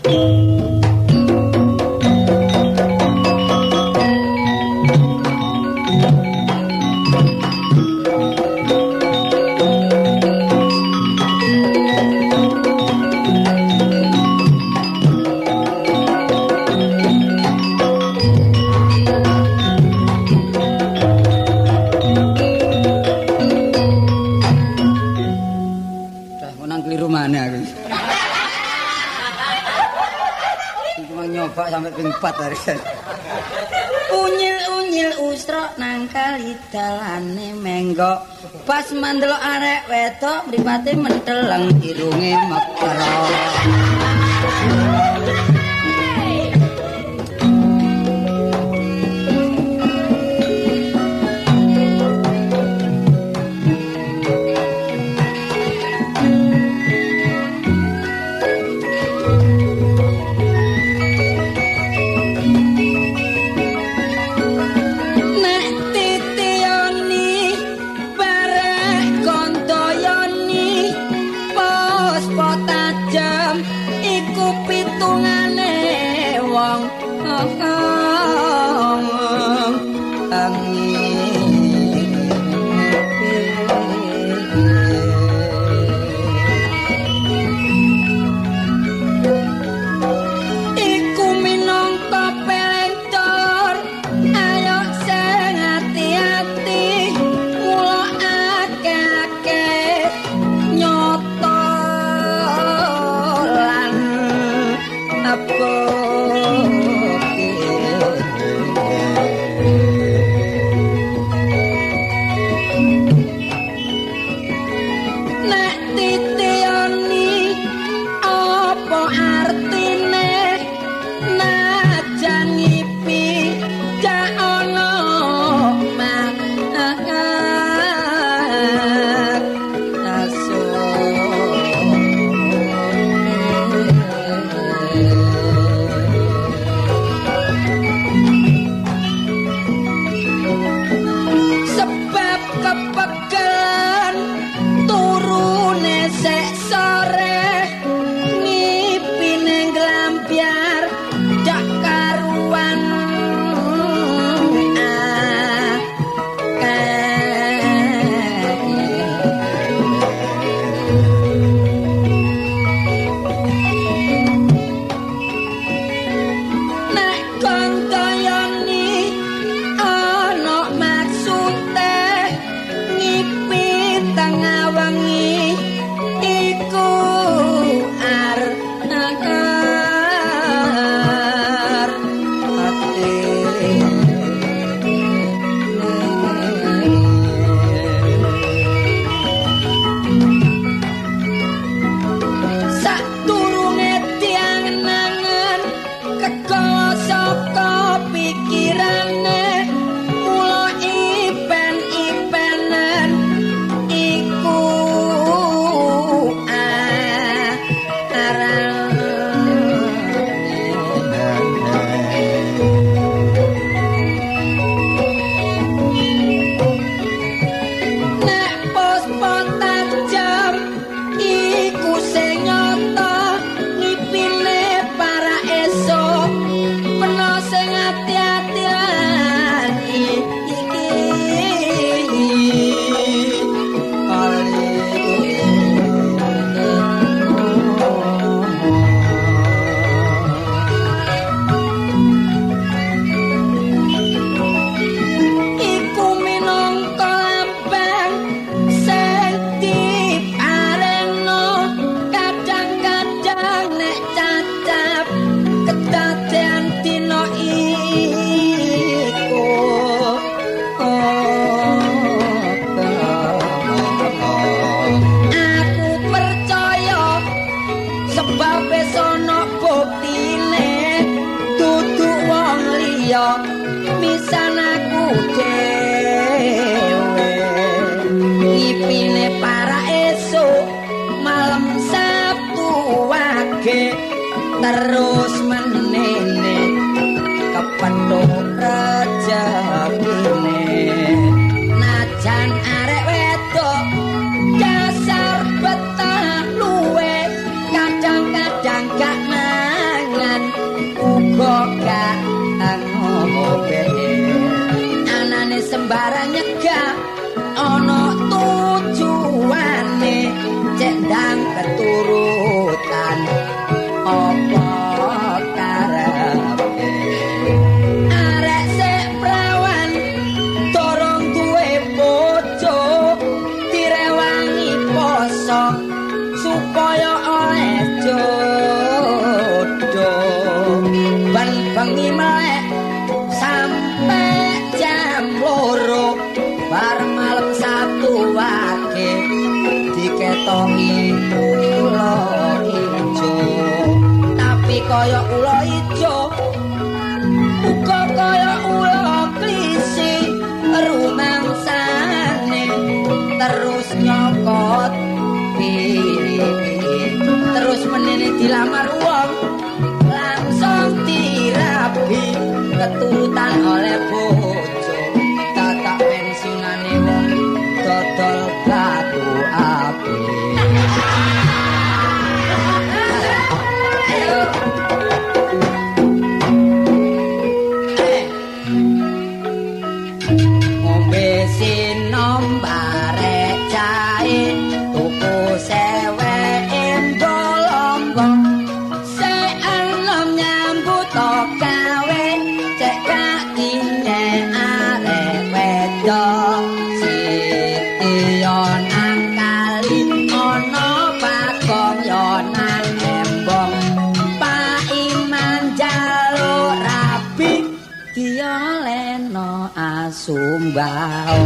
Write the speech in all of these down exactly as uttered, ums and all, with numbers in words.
Sampai ping empat hari. Unyil-unyil usra nang kali dalane menggok. Pas mandelok arek wedok mripate menteleng irunge mekara. terus menene kepethuk rejekine najan arek wedok dasar betah luwe kadang-kadang gak mang mangsa supaya oleh jodoh ban bengi melek sampai jam loro bar malam Sabtu wage diketoki ula ijo tapi kaya ula ijo uga kaya ula klisi rumangsane terus nyokot terus menene dilamar wong langsung dirabi keturutan oleh bojo kakak pensiunane wong dodol batu api ayo ngombe sinom barek cahe tuku sewe embolong se enom nyambut gawe cek kakine arek wedok siti yo nang kali ana pakong yo nang embong Pak Iman jaluk rabi dioleno asumbau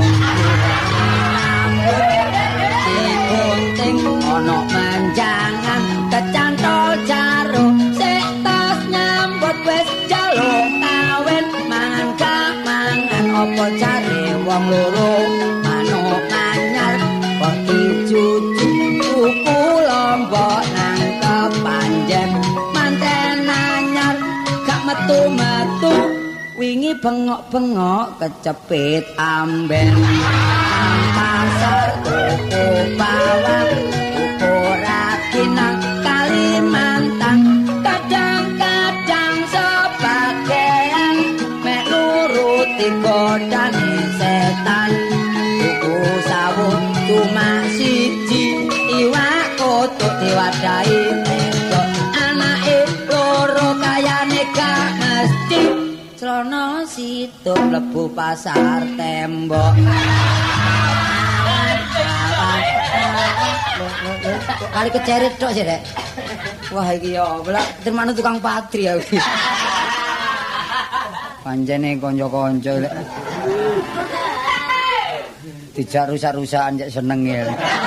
digunting ana manjangan kecantol jaro sik tas nyambut wis jaluk kawin mangan kamangan apa jare wong loro manuk anyar wong ijuju tuku lombok nang kepanjen manten anyar gak metu-metu wingi bengok-bengok kecepit amben nang pasar tuku bawang tuku ragi nang Kalimantan kadang-kadang sebagian mek nuruti godane setan tuku sawu cuma siji iwak kotuk diwadahi teko anake loro kayane gak mesti Trono situ mlebu pasar tembok. Kali kecerit tok sih, Dek. Wah iki ya, belak termanu tukang patri ya. Pancene kanca-kanca lek. Dijak rusak-rusakan cek seneng ya.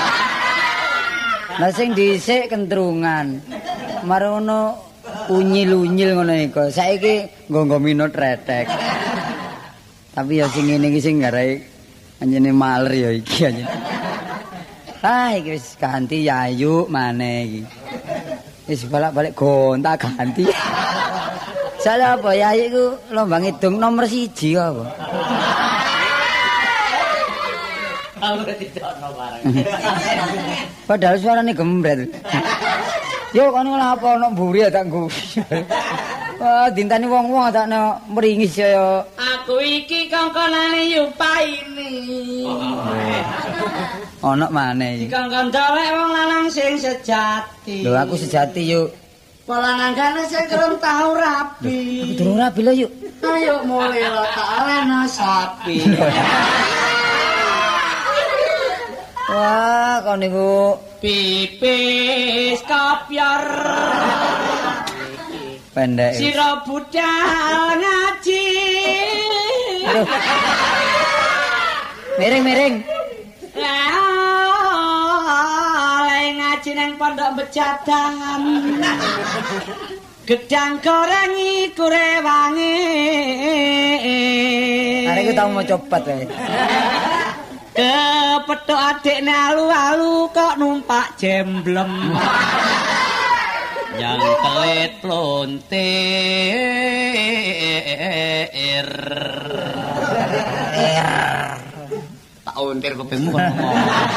Lah sing dhisik kentrungan. Marono unyil-unyil ngono iku. Saiki nggo-nggo minut retek. Tapi ya sing ngene iki sing garai anjene maler ya iki anjene. Ah iki wis ganti yayu maneh iki. Wis balik-balik gonta ganti. Salah apa yayu iku lomba ngidung nomor siji apa? Padahal suarane gembret. Yo kan ora apa ono mburi tak nggo. Wah, dintani wong-wong tak ana mringis ya. Aku iki kongkonane Yupaini. Ono maneh iki. Dikongkon dolek wong lanang sing sejati. Lho aku sejati yuk. Polanangane sing durung tau rabi. Aku durung rabi lho yuk. Ayo mulai lo tak alena sapi. Wah, kok niku pipis kopior. Pendek. Sira budal ngaji. Aduh. Miring-miring. Lek ngaji nang pondok becadahan. Gedang goreng iku rewange. Arek ku tau mau copat wae. Kepethuk adikne alu-alu kok numpak jemblem. Yang kelit plontir. Tak untir kupingmu kok ngomong.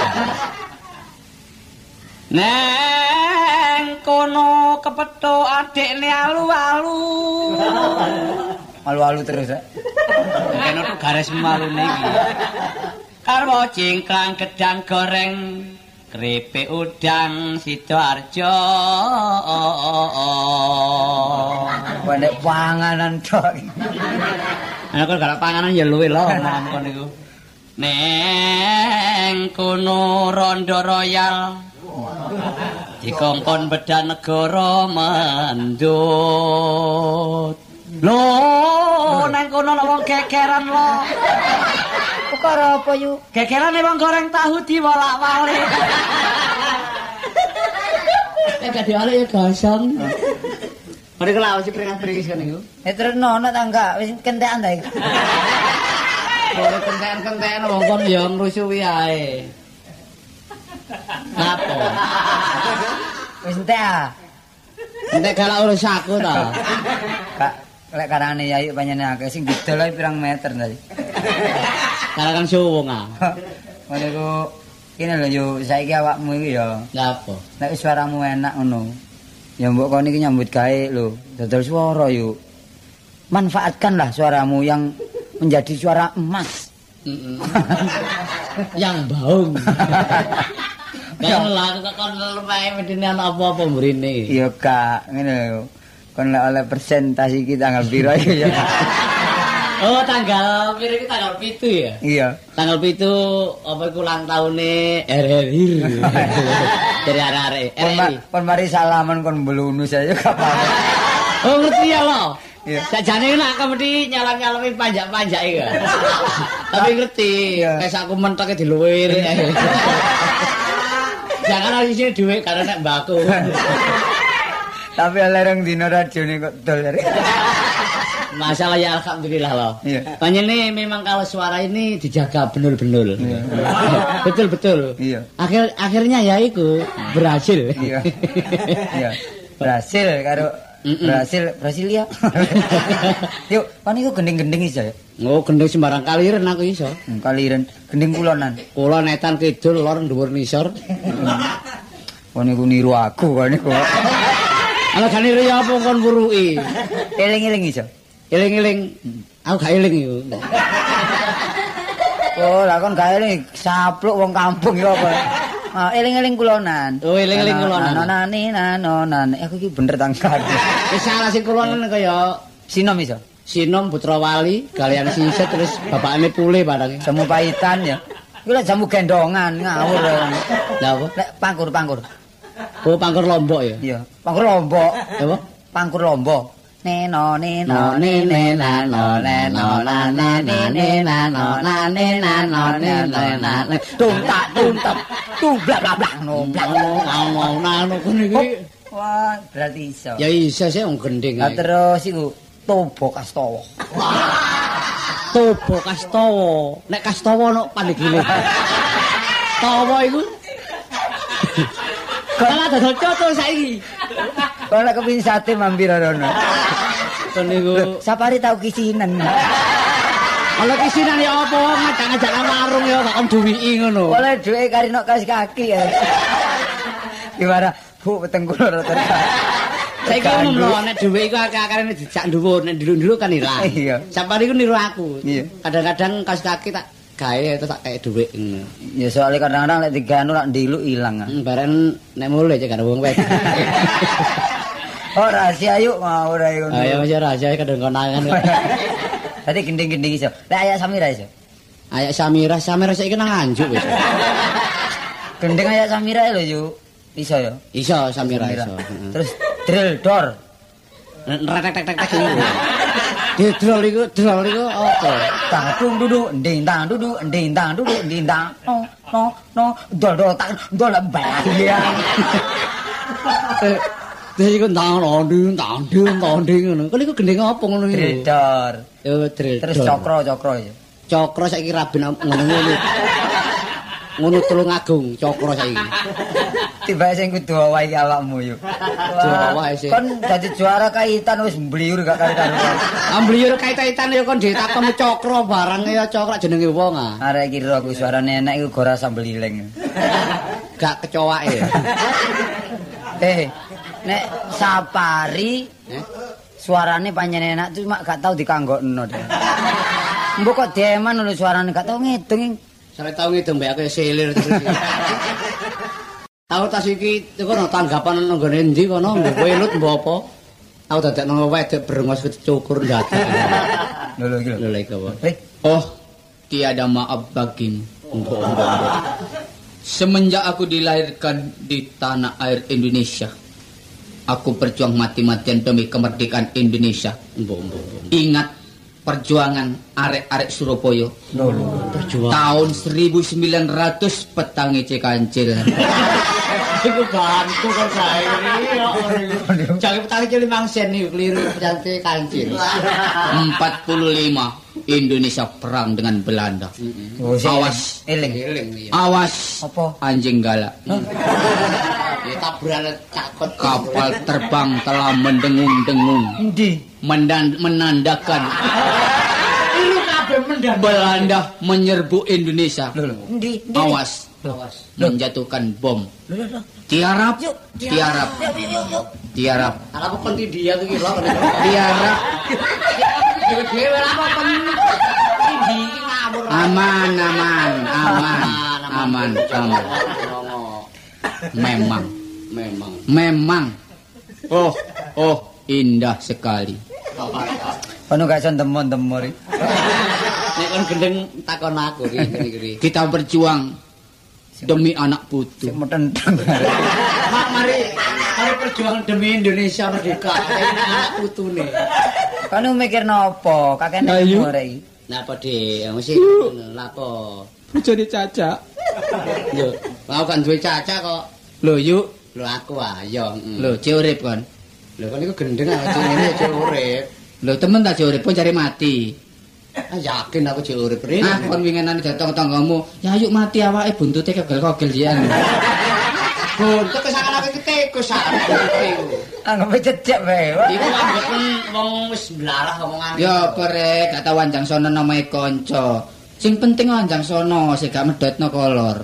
Neng kono kepethuk adikne alu-alu. Alu-alu terus ya. Kene tuh garis malune iki. Karwo cingkrang gedang goreng keripik udang Sidoarjo. Pendek panganan tok. Ana kok galak panganan ya luwe lho kon niku. Neng kono Rondo Royal Dikongkon bedah negara mandut. Lho, nang kono ana wong gegeran lho. Perkara apa yu? Gegerane wong goreng tahu diwolak-walik. Eh gak diwalik ya gosong. Mari kula wis pringas-pringis kene iku. Eh terus nono ta enggak wis kentekan ta iku. Ora kentekan-kentekan wong kon ya ngrusuhi ae. Napa? Wis entek ah. Entek galak urus aku ta. Kak lek karane yayu panjenengan akeh sing didol ae pirang meter tadi. Karangan suwung ah. Ngene ku kene lho yo saiki awakmu iki ya. Napa? Nek suaramu enak ngono. Ya mbok kon iki nyambut gawe lho, dodol swara yuk. Manfaatkanlah suaramu yang menjadi suara emas. Mm-mm. Yang baung. Kan lah kon lumae medine ana apa-apa mrene. Iya Kak, ngene lho. Kon lek oleh persentase iki tanggal piro iki ya. Oh, tanggal piro iki tanggal pitu ya? Iya. Tanggal pitu apa iku ulang taune R R I. Dari arek-arek. Kon, ma- kon mari salaman kon belunu saya gak apa-apa. Oh, ngerti ya lo. Iya. Sajane nak kemedi nyalam-nyalami panjak-panjak iki. Tapi ngerti, Iya. wis aku mentoke diluwir. Jangan lagi sini duit karena nek mbakku. Tapi lereng dino radione kok dol. Masalah ya alhamdulillah loh. Iya. Panjenengan memang kalau suara ini dijaga benar-benar. Iya. Betul-betul. Iya. Akhir akhirnya ya itu berhasil. Iya. Iya. Berhasil karo Mm-mm. Brasil, Brasilia. Yuk, kon iku gending-gending iso ya. Oh, gendeng sembarang kaliren aku iso. Hmm, Kaliren gending kulonan. Kula netan kidul lor dhuwur nisor. Kon iku niru aku kon iku. Ala gane ya apa kon wuruki. Eling-eling iso. Eling-eling. Aku gak eling iku. Oh, lah kon gak eling sapluk wong kampung ya apa. Ah, eling-eling kulonan. Oh, eling-eling kulonan. Nanani nanonan. Aku iki bener tangkar. Wis salah sing kulonan kaya Sinom iso. Sinom Putra Wali kalian Siset terus bapakane Pule barang. Jamu pahitan ya. Iku lek jamu gendongan ngawur. Lah apa? Lek pangkur-pangkur. Oh, pangkur Lombok ya. Iya, pangkur lombok. Apa? Pangkur lombok. Neno neno nene nano neno nane nene nano nane nano neno nane tuntak tuntak tung bla bla bla no bla Ngomong nano kene iki. wah berarti iso Ya iso sih wong gending. nah, terus iku Tobo Kastowo Tobo Kastowo. Nek Kastowo ono pandegile. Tawa iku. Kalau dodol coto saiki. kalau kepin sate mampir rono Kon niku sapari tau kisinan kalau kisinan ya apa ngajak-ngajak nang warung ya kok duwiki ngono. boleh duwe karino kas kaki ya gimana bu petengkul rata Saiki umum lho nek dhuwit iku akeh-akehane dijak dhuwur, nek dulu-dulu kan ilang. Iya. Sapari iku niru aku. Iya. Kadang-kadang kas kaki tak gawe terus tak kaya dhuwit ngono. ya soalnya kadang-kadang lek diganu lak ndilu ilang ah. Hmm, bareng nek mulai cek karo wong wek. Oh rahasia yuk mau ora ngono. Ayo wis rahasia kadang konangan. Tadi gending-gending iso. Lek ayak Samira iso. Ayak Samira, Samira saiki nang Nganjuk wis. Gending ayak Samira lho yuk. Iso ya. Iso Samira iso. Terus drill door. Retek-tek-tek iki. Di drol iku, drol iku apa? Tang dung dudu nding tang dudu nding tang dudu nding tang. No no no dol dol tang dol bayang. Terus iku ndang nding ndang nding ndang nding ngono. Kok iku gendeng apa ngono iku? Drill door. Yo drill. Terus cokro cokro ya. Cokro saiki raben ngono-ngono. Ngono Tulung Agung cokro saiki. Tiba sing kudu wae iki awakmu yuk. Jawa sih. Kon dadi juara kaitan wis mbliur gak karo-karo. Ambliur kait-kaitan ya kon ditakoni cokro barang ya cokro jenenge wong ah. Arek iki ro aku suarane enak iku gora sambelileng. Gak kecoake. Eh, nek Sapari Eh? suarane panjenengan enak cuma gak tau dikanggokno deh. Mbok kok deman lho suarane gak tau ngedeng. Sare tau ngedeng mbek aku selir terus. Tahu tas iki kono tanggapan nang gone endi kono mbok welut mbok apa? Aku dadekno wedok brengos kecukur ndadak. Lho lho iki lho. Lho lha iku apa? Eh, Oh, tiada maaf bagimu. Mbok mbok. Semenjak aku dilahirkan di tanah air Indonesia, aku berjuang mati-matian demi kemerdekaan Indonesia. Ingat perjuangan arek-arek Surabaya. Perjuangan. Tahun seribu sembilan ratus petangi Cekancil. Iku bantu kan saya ini. Jangan petangi cilik mangsen nih keliru petangi Kancil. empat puluh lima Indonesia perang dengan Belanda. Oh, Awas, eling. awas. Apa? Anjing galak. Ya taburan cakot. Kapal terbang telah mendengung-dengung. Endi? Mendan- menandakan Iru kabeh mendan. Belanda menyerbu Indonesia. Endi? Awas, awas. Menjatuhkan bom. Tiarap, tiarap, tiarap, Ala apa penting dia tuh kira. tiarap. Dewe apa penting. Ini ngawur. Aman, aman, aman, aman, aman. Memang, Memang. memang. Oh, oh, indah sekali. Kono gak iso ndemon-ndemor. Nek kon gendeng takon aku iki ngene Kita berjuang demi anak putu. Sik metenteng. Mak mari mari perjuangan demi Indonesia merdeka. Ini anak putune. Kono mikirno apa? Kakene Ayu. umur iki. Napa De? Mesti lapo? Bojone Caca. Yo, mau kan duwe caca kok. Lho, yuk. Lho aku ayo. Lho, cek urip kon. Lho kan iku gendeng aja ngene aja urip. Lho, temen tak cek urip pun cari mati. Ah yakin aku cek urip rene. Ah, kon winginan datang tanggamu. Ya yuk mati awake buntute kegel-kogel jian. Buntut kesakan aku tikus aku. Anggap cecek wae. Wak. Iku ambek wong wis blalah omongan. Ya pere, gak tau Wanjang Sono namae kanca. Sing penting Wanjang Sono sing gak medhotno kolor.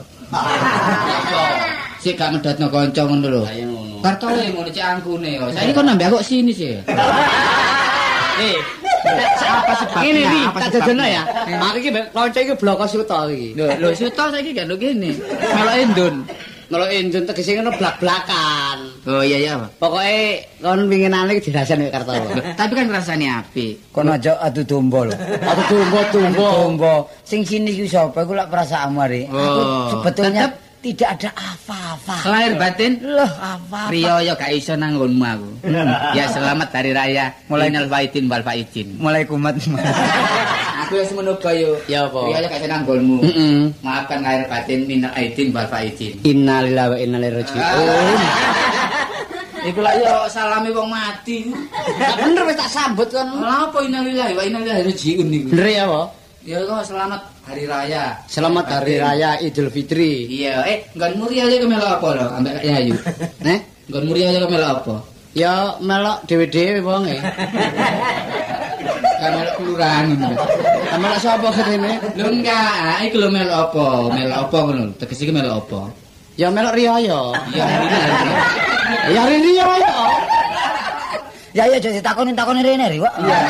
Sik gak medhotno kanca ngono lho. Ayo ngono. Kartole ngono cek angkune yo. Saiki kon nambah kok sini sih. Eh, Apa sebabnya? ini nih, Apa tak sebabnya? jajono ya. Aku iki kanca iki bloko suto iki. Lho, lho suto saiki gak lho kene. Melok endun. Kalau injun tegese ngono blak-blakan. Oh iya iya. Pokoke kon winginane iki dirasani kartu. Tapi kan rasane apik. Kono aja adu domba lho. Aku tumbo-tumbo. Domba. Sing sini ku sapa? Iku lak perasaanmu ari. Aku Oh, sebetulnya tetep tidak ada apa-apa. lahir batin Loh, apa-apa. Rio yo gak iso nanggonmu aku. Ya selamat hari raya. Mulai- Mulai faidin wal faidin. Mulai kumat. Aku wis menuga yo. Ya apa? Rio yo gak iso nanggonmu. Heeh. Maafkan lahir batin minal aidin wal faidin. Innalillahi wa inna ilaihi raji'un. Iku lak yo salami wong mati. Gak bener wis tak sambut kan. Lha apa innalillahi wa inna ilaihi raji'un niku? Bener ya, apa? Ya kok selamat hari raya. Selamat Hari Raya Idul Fitri. Iya, eh nggon muri aja kemelok apa lho ambek Kak Yayu. Nih, Nggon muri aja kemelok apa? ya melok dhewe-dhewe wong e. Kemelok kelurahan ngono. Melok sapa ketene? Lho enggak, iku lho melok apa? Melok apa ngono? Tegese iki melok apa? Ya melok riyaya. Iya, ini. Ya riyaya. Ya ya jadi takoni-takoni rene ri, Wak. Iya.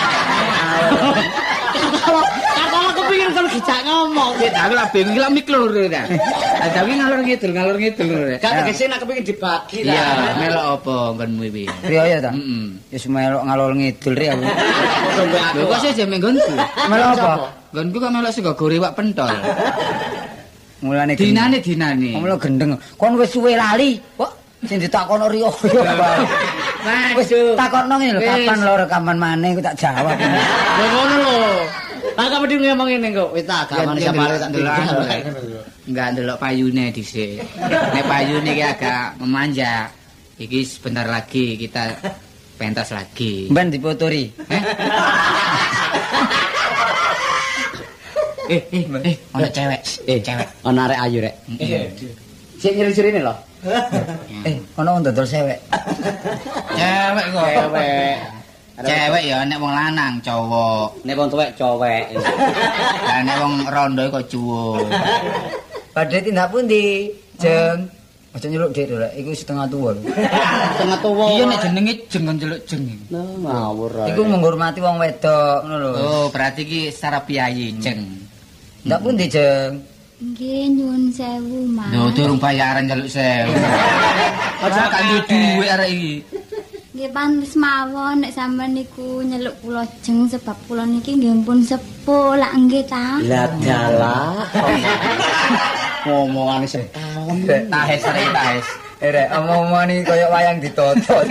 Kalau aku pikir kan gijak ngomong. Kita aku lah bingung lah mikir ta. Ada wingi ngalor ngidul, ngalor ngidul ngono. Gak tegese nek kepengin dibagi lah. Iya, melok apa nggonmu iki? Riyo ya ta? Heeh. Wis melok ngalor ngidul ri aku. Lho kok sih jame nggonku? Melok apa? Nggonku kok melok sego gore wak pentol. Mulane Dinane dinane. Kamu lo gendeng. Kon wis suwe lali. Kok sing ditakono Rio. Wis takokno ngene lho, kapan lo rekaman maneh ku tak jawab. Lho ngono lho. Lah kamu di ngomong ngene kok. Wis tak Ya, gaman ya, sampe delok- tak delok tinggal. anu, Lek. Enggak ndelok payune dhisik. Nek payune iki agak memanjang. Iki sebentar lagi kita pentas lagi. Ben dipoturi. Eh? eh, eh, eh, ono cewek. Eh, cewek. Ono arek ayu rek. Sing nyiri-nyirine lho. Eh, ono wong dodol sewek. Cewek kok. Cewek. Cewek ya nek wong lanang cowok. Nek wong tuwek cowek. Lah nek wong rondo kok cuwuk. Badhe tindak pundi, Jeng? Aja nyeluk Dik lho, iku setengah tuwa lho. Tengah tuwa. Iya nek jenenge jeng kon celuk jeng. Nah, ngawur ae. Iku menghormati wong wedok ngono lho. Oh, berarti iki secara piyayi jeng. Ndak pundi, Jeng? Nggih nyuwun sewu, Mas. Lho durung bayaran celuk sewu. Aja kan duwe duwe arek iki. Nggih pantes mawon nek sampean niku nyeluk kula jeng sebab kula niki nggih pun sepuh lak nggih ta. Lah dalah. Ngomongane sepon. Tahes rek tahes. Rek omong-omong iki koyo wayang ditoto.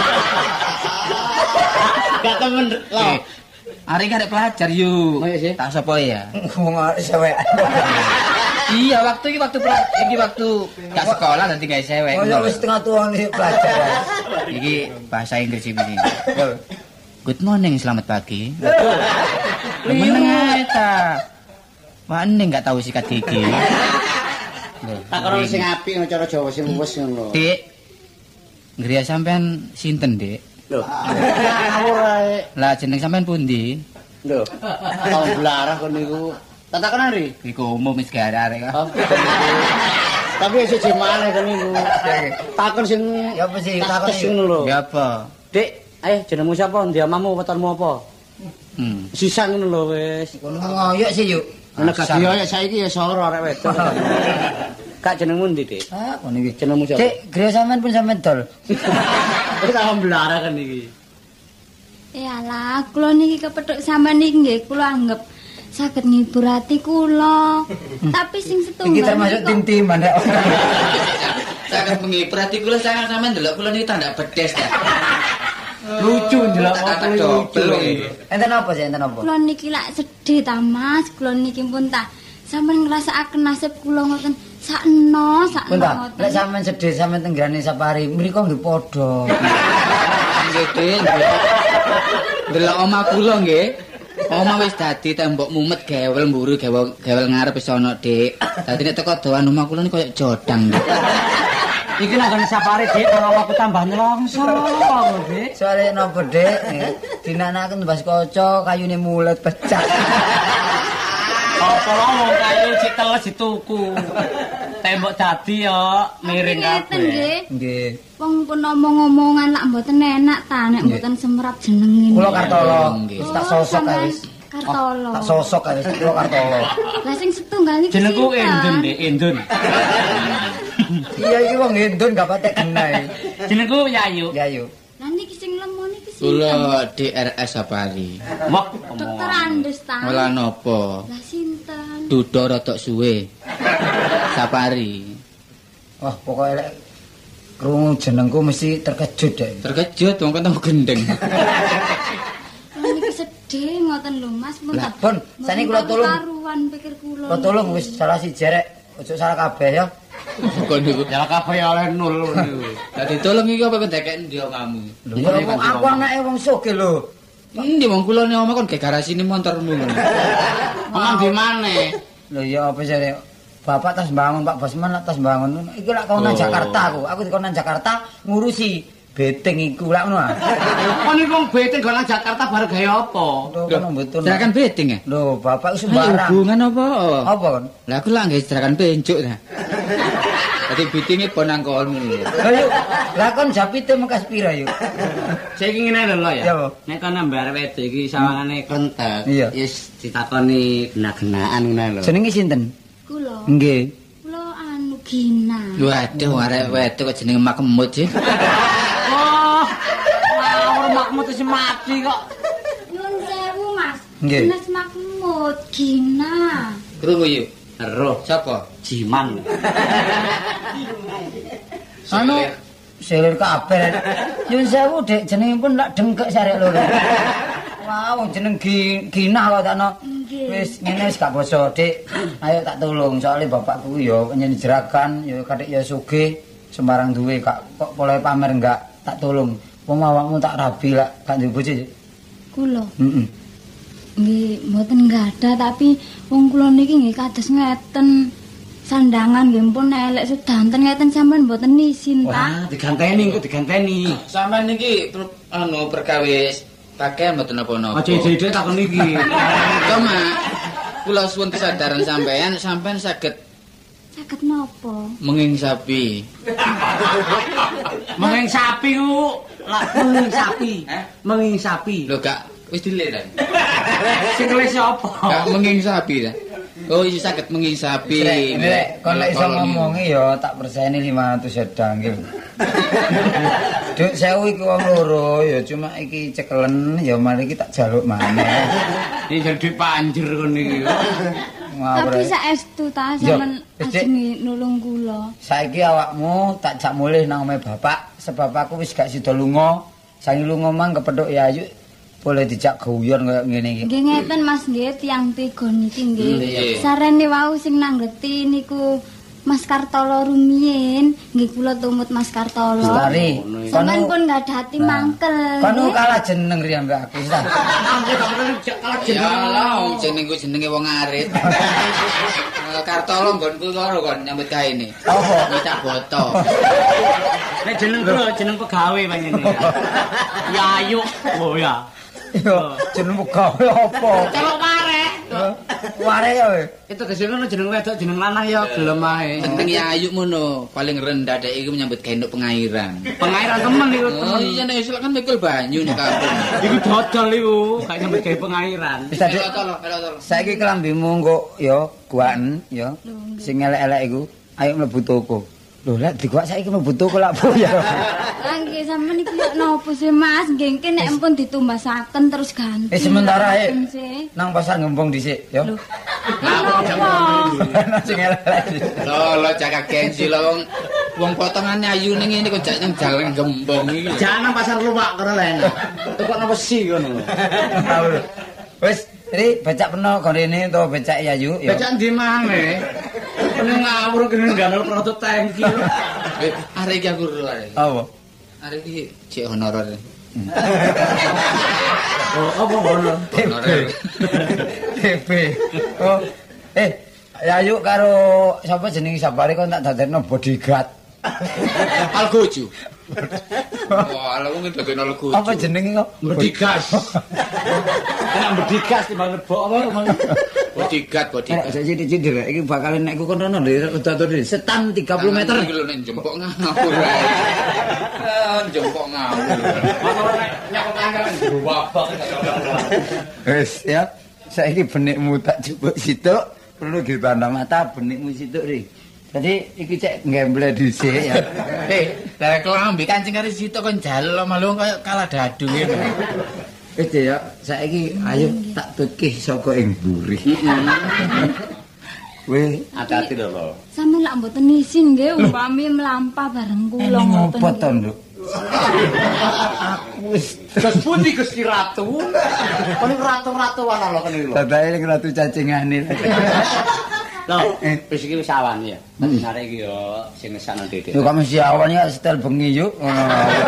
Gak temen lho. Ari karek pelajar yuk. Oh iya sih. Tak sapa ya? Wong sewek. Iya, waktu iki waktu pra- iki waktu gak sekolah nanti gawe sewek. Oh ya wis setengah tuwa nih pelajar. Iki bahasa Inggris iki. Good morning, selamat pagi. Meneng ae ta. Wane enggak tahu sikat gigi. Tak karo sing apik ngono cara Jawa sing wis ngono. Dik. Ngriya sampean sinten, Dik? Lho. Ngawur ae. Lah jeneng sampean pundi? Lho. Tahun belarah kon niku. Tak takon ari. Iku umum wis gak arek kok. Tapi siji maneh kon niku. Takon sing Ya apa sih takon takon ngono lho. Ya apa? Dik, ayo jenengmu sapa? Ndi amamu wetonmu apa? Hmm. Sisan ngono lho wis. Kono ngoyok sih yuk. Nek gak ya saiki ya soro arek wedok. Kak jenengmu ndi, Dik? Ah, kono iki. Jenengmu sapa? Dik, griya sampean pun sampean dol. Wis tahun belarah kan iki. Yalah, kula niki kepethuk sampean niki nggih kula anggap saged ngibur ati kula. Tapi sing setunggal Iki termasuk niki kok- tim-timan rek. Sangat menghibur hati kula sangat sampean ndelok kula niki tanda bedes ta. Lucu ndelok Tak foto lucu. double. Enten apa sih, enten apa? Kula niki lak sedih ta Mas, kula niki pun tak sampean ngrasakaken nasib kula ngoten sakno sakno Bentar, ngoten. lek sampean sedih sampean tenggrane Sapari, mriko nggih padha. Nggih, Dik. nggih. Delok omah kula nggih. Omah wis dadi tembok mumet gewel mburu gewel gewel ngarep wis ana, Dik. Dadi nek teko doan omah kula niku koyo jodang. Dik. Iki nek kon Sapari Dik, nang aku tambah nyelongso, Dik. Soale napa, Dik? Dinanaken mbas kaca kayune mulet pecah. Apa wong kayu citeles dituku. Tembok dadi yo miring Tapi ngeten kabeh. nggih. Nggih. Wong pun omong-omongan lak mboten enak ta nek Nggih. mboten semrap jenengin. Kula Kartolo, Nggih. wis tak sosok kae wis. Kartolo. Tak sosok kae wis kula Kartolo. Lah sing setunggal niki Jenengku sinten? Endun, Dik, Endun. Iya iki wong Endun gak patek genah. Jenengku Yayu. Ya yuk. Lah niki sing lemon niki sinten? Kula D R S Sapari. Wah, Dokter Andes ta. Ola napa? Lah sinten? Dudo rodok suwe. Sapari. Wah, pokoknya lek krungu jenengku mesti terkejut deh. Terkejut wong ketemu gendeng. Lah niki sedih ngoten lho Mas pun Lah, tak. Pun, sani kula tulung. Karuan pikir kula. Kula tulung wis salah si jerek, ojo salah kabeh ya. Kok niku. ya kabeh oleh nol niku. Dadi tolong iki apa kendeken ndi omamu? Lho, ya wong aku anake wong sugih lho. Endi wong kula ne omah kon ge garasine montormu ngono. Omong di maneh? Lho ya apa sih Bapak tas bangun, Pak Bosman lah tas bangun. Iki lak kau nang Oh. Jakarta aku. Aku dikon nang Jakarta ngurusi beteng iku lak ngono. ah. Kok niku wong beteng go nang Jakarta bareng gawe apa? Lho kono mboten. Serakan betting ya? Lho, Bapak iku Ayo, sembarang. hubungan apa? Apa kon? Lah aku lah nggih serakan pencuk ta. Dadi bitinge ponang kolmu lho. Lah yuk, lah kon japite mekas pira yuk? Saiki ngene lho Ya, ya. Bu. Nek kon mbare wedok iki sawangane kontak. Iya. Wis ditakoni gena-genaan ngono lho. Jenenge sinten? Kula. Nggih. Kula anu Gina. Waduh arek wedok kok jenenge makemut sih. Oh. Wah, makmu wis mati kok. Nyun sewu Mas. Nggih. Mas Mahmud Gina. Krungu yuk. Roh Sapa? jiman. Anu selir kabeh. Nyun sewu Dik, jenenge pun lak dengkek sarek loro. Wah, wong jeneng Gi- Gina kok takno. Nggih. Wis ngene wis gak basa, Dik. Ayo tak tulung soalnya bapakku ya nyanyi jeragan, ya kadek ya sugih, sembarang duwe kak kok boleh pamer enggak tak tulung. Wong awakmu tak rabi lak gak duwe bojo. Kula. Heeh. Nggih, mboten gadah tapi wong kula niki nggih kados ngeten. Sandangan nggih pun elek sedanten ngeten sampean mboten isin ta. Wah, diganteni engko diganteni. Sampeyan niki per, anu perkawis pakaian mboten napa-napa. Aja ide takon iki. Cuma kula suwun kesadaran sampean sampean saged Saged napa? menging sapi. Menging sapi ku, lah menging sapi. Menging sapi. Lho gak wis dile ta? Sing keles apa? Gak menging sapi ta. Oh, iki saged mengisapi. Nek kon lek iso ngomongi ya tak perseni lima ratus sedang iki. Duk sewu iki wong loro ya cuma iki cekelen ya mari iki tak jaluk maneh. Iki jadi panjer kon iki. Tapi saestu ta sampean ajeng nulung kula. Saiki awakmu tak jak mulih nang omahe bapak sebab aku wis gak sida lunga. Sangi lunga mang kepethuk ya ayu. Boleh dijak guyon kaya ngene iki. Nggih ngeten Mas nggih tiyang tiga niki nggih. Sarene wau sing nanggeti niku Mas Kartolo rumiyin, nggih kula tumut Mas Kartolo. Lestari. Sampeyan pun ngadhati mangkel. Kono kalah jeneng riyen mbak aku ta. Kalah Ya Allah, jenengku jenenge wong arit. Kartolo nggonku karo kon nyambut gawe ini. Apa? Minta boto. Nek jeneng kula jeneng pegawe panjenengan. Ya ayu. Oh ya. Yo, jeneng gawe apa? Celok mare. Ware ya we. Itu kesene jeneng wedok jeneng lanang ya gelem ae. Penting ya ayu ngono, paling rendah dek iki menyambut gawe nduk pengairan. Pengairan temen iku Oh temen. iya nek isuk kan mikul banyu nek kampung. Iku dodol iku, gak nyambut gawe pengairan. Wis tadi Tolong, tolong. saiki kelambimu engko ya guaken ya. Sing elek-elek iku ayo mlebu toko. Lho lek diguak saiki mlebu toko lak bu ya. Lah nggih sampean iki yo nopo sih Mas? Nggih engke nek ampun ditumbasaken terus ganti. Eh sementara ae Sih. nang pasar ngembong dhisik ya. Apa? Sing elek. Lo lo jaga gengsi lo wong wong potongane ayu ning ngene kok jak nang jalan gembong iki. Jangan nang pasar luwak kono len. Tukokno besi kono. Wis, iki becak peno gorene to becak Yayu ya. Becak ndi maneh? Ini ngawur kene ngandel produk tangki. Eh, arek iki aku ora. Apa? Arek iki cek honorer. Oh, apa ngono? Honorer. T B. Oh, eh Yayu karo sapa jenenge sabare kok tak dadekno bodyguard. Algojo. Wah, ala wong dadekno algojo. Apa jenenge kok? Bedigas. Kena bedigas timbang lebok apa? Bodyguard, bodyguard. Nek cidik-cidik rek iki bakal nek ku kono lho datur setan tiga puluh meter. Iki lho nek jempok ngawur. Eh, jempok ngawur. Motor nek nyakok anggaran wabak. Wis ya. Saiki benikmu tak jupuk situk, perlu ditanda mata benikmu situk ri. Jadi iki cek ngemble dhisik ya. Eh, dari kelambi kancing karo sitok kon jalo malu kaya kalah dadu ngene. Wis ya, saiki ayo tak tukih saka ing mburi. Weh, Hati-hati lho. Sampeyan lak mboten isin nggih umpami mlampah bareng kula ngoten. ngopo to, Nduk? Wis Terus pundi Gusti Ratu? Kon ratu-ratu ana lho kene lho. dadae ning ratu cacingane. Loh, wis iki wis awan ya. Dadi arek iki yo sing ngesana Dede. Yo kok mesti awan ya setel bengi yuk ngono.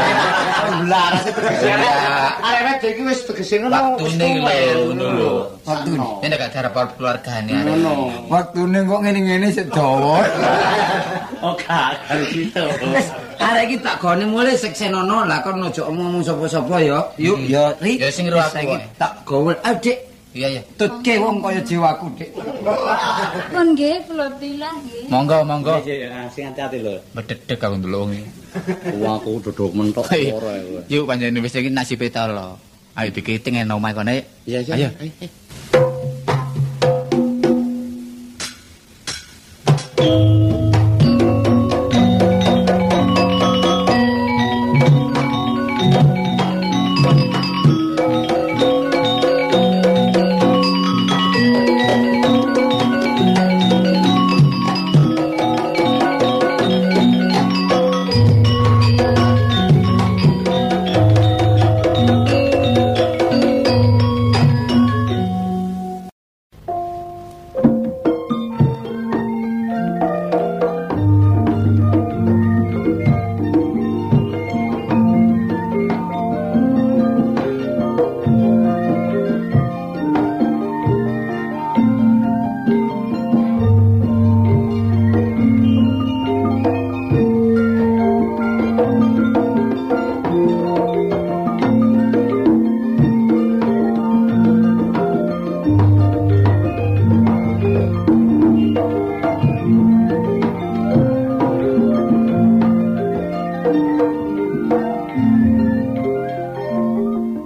Laras tegese. Arek wedok iki wis tegese ngono. Waktune lho ngono lho. Waktune. Ini gak darah keluargane arek. Ngono. Waktune kok ngene-ngene sik dawa. Oh, gak karo gitu. Arek iki tak gone mulih seksenono lah kon ojo ngomong sapa-sapa ya. Yuk ya ri. Ya sing ro aku Saiki wae. tak gawe. Ayo Dik, Iya ya. tutke wong kaya jiwaku, Dik. Pun nggih kula tilah nggih. Monggo monggo. Sing hati-hati lho. Bededeg aku ndelok wong iki. Wong aku duduk mentok ora kowe. Yuk panjenengan wis iki nasibe ta lho. Ayo dikiting nang omah kene. Iya, iya. Ayo.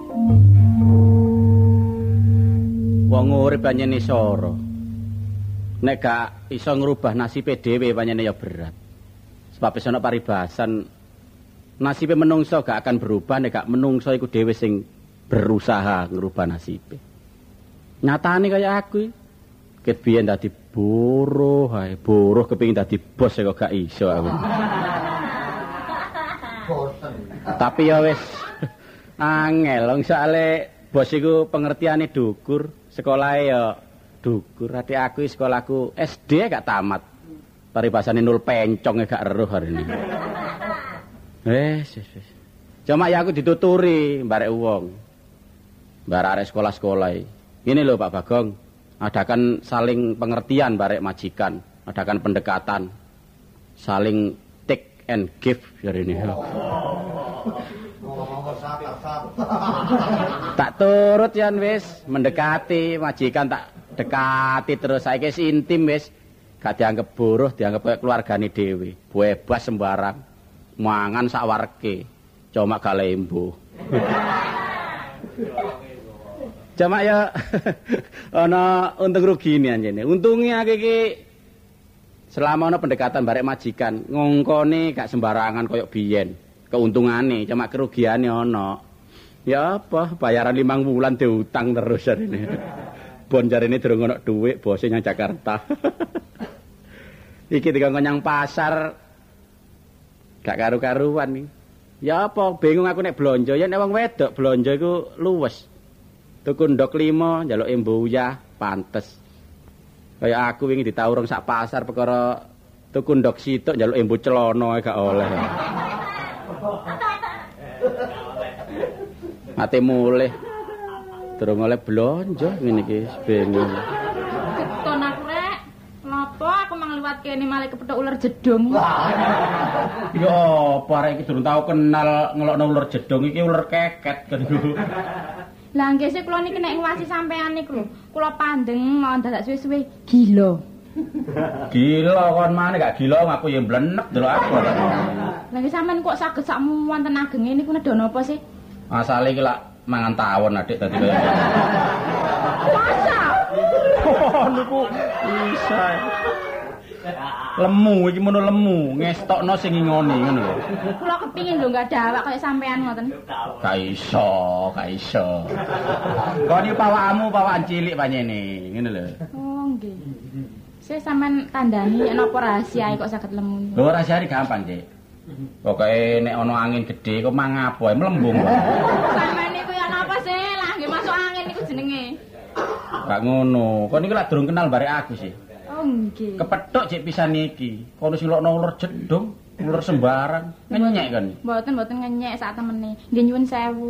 Wong urip anyene soro. nek gak iso ngrubah nasibe dhewe pancene ya berat. Sebab ana paribasan nasibe menungso gak akan berubah nek gak menungso iku dhewe sing berusaha ngrubah nasibe. Nyatane kaya aku ket biyen dadi buruh, hae buruh kepengin dadi bos kok gak iso aku. Tapi ya wis angel wong soalé bos iku pengertiane dhukur, sekolahe ya dhukur. Ati aku sekolahku S D gak tamat. Paribasane nul pencong gak eruh arene. Wes wes wes. Cuma ya aku dituturi barek wong. Barek arek sekolah-sekolah. Ini lho Pak Bagong, adakan saling pengertian barek majikan, adakan pendekatan. Saling take and give jarene. Tak turut yan wis mendekati majikan tak dekati terus saiki intim wis gak dianggap buruh dianggap kaya keluargane dhewe bebas sembarang mangan sak warke cuma gak lembo cuma ya ana untung rugine anjene untunge akeh iki selama ana pendekatan barek majikan ngongkone gak sembarangan kaya biyen keuntungane cuma kerugiane ana ya apa bayaran limang bulan diutang terus jarine bon jarine durung ana dhuwit bose nyang Jakarta iki dikon nyang pasar gak karu-karuan iki ya apa bingung aku nek blonjo ya nek wong wedok blonjo iku luwes tuku ndok lima njaluk embuyah pantes kaya aku wingi ditawurung sak pasar perkara tuku ndok sitok njaluk embu celana gak oleh mate mulih durung oleh blonjo ngene iki bingung keton aku rek napa aku mang liwat kene malah kepethuk ular jedung yo apa arek iki durung tau kenal ngelokno ular jedung iki ular keket kan lah nggih sik kula niki nek ngwasi sampean niku lho kula pandeng mau dadak suwe-suwe gila gila kon maneh gak gila aku ya mblenek delok aku lah nggih sampean kok saged sak wonten agenge niku nedha napa sih asale iki lak mangan tawon adik dadi kaya masa oh niku bisa lemu iki mono lemu ngestokno sing ngingoni ngono lho kula kepingin lho gak ada awak kaya sampean ngoten gak iso gak iso kok iki pawakmu pawakan cilik panjene ngene lho oh nggih saya sampean tandani napa rahasia kok saged lemu lho rahasiane gampang Cik pokoke nek ana angin gedhe kok mangapo ae mlembung sampean niku ya napa sih lah nggih masuk angin niku jenenge gak ngono kok niki lak durung kenal barek aku sih oh nggih kepethuk Cik pisan iki kono sing lokno ular jedung ular sembarang ngenyek kan mboten mboten ngenyek sak temene nggih nyuwun sewu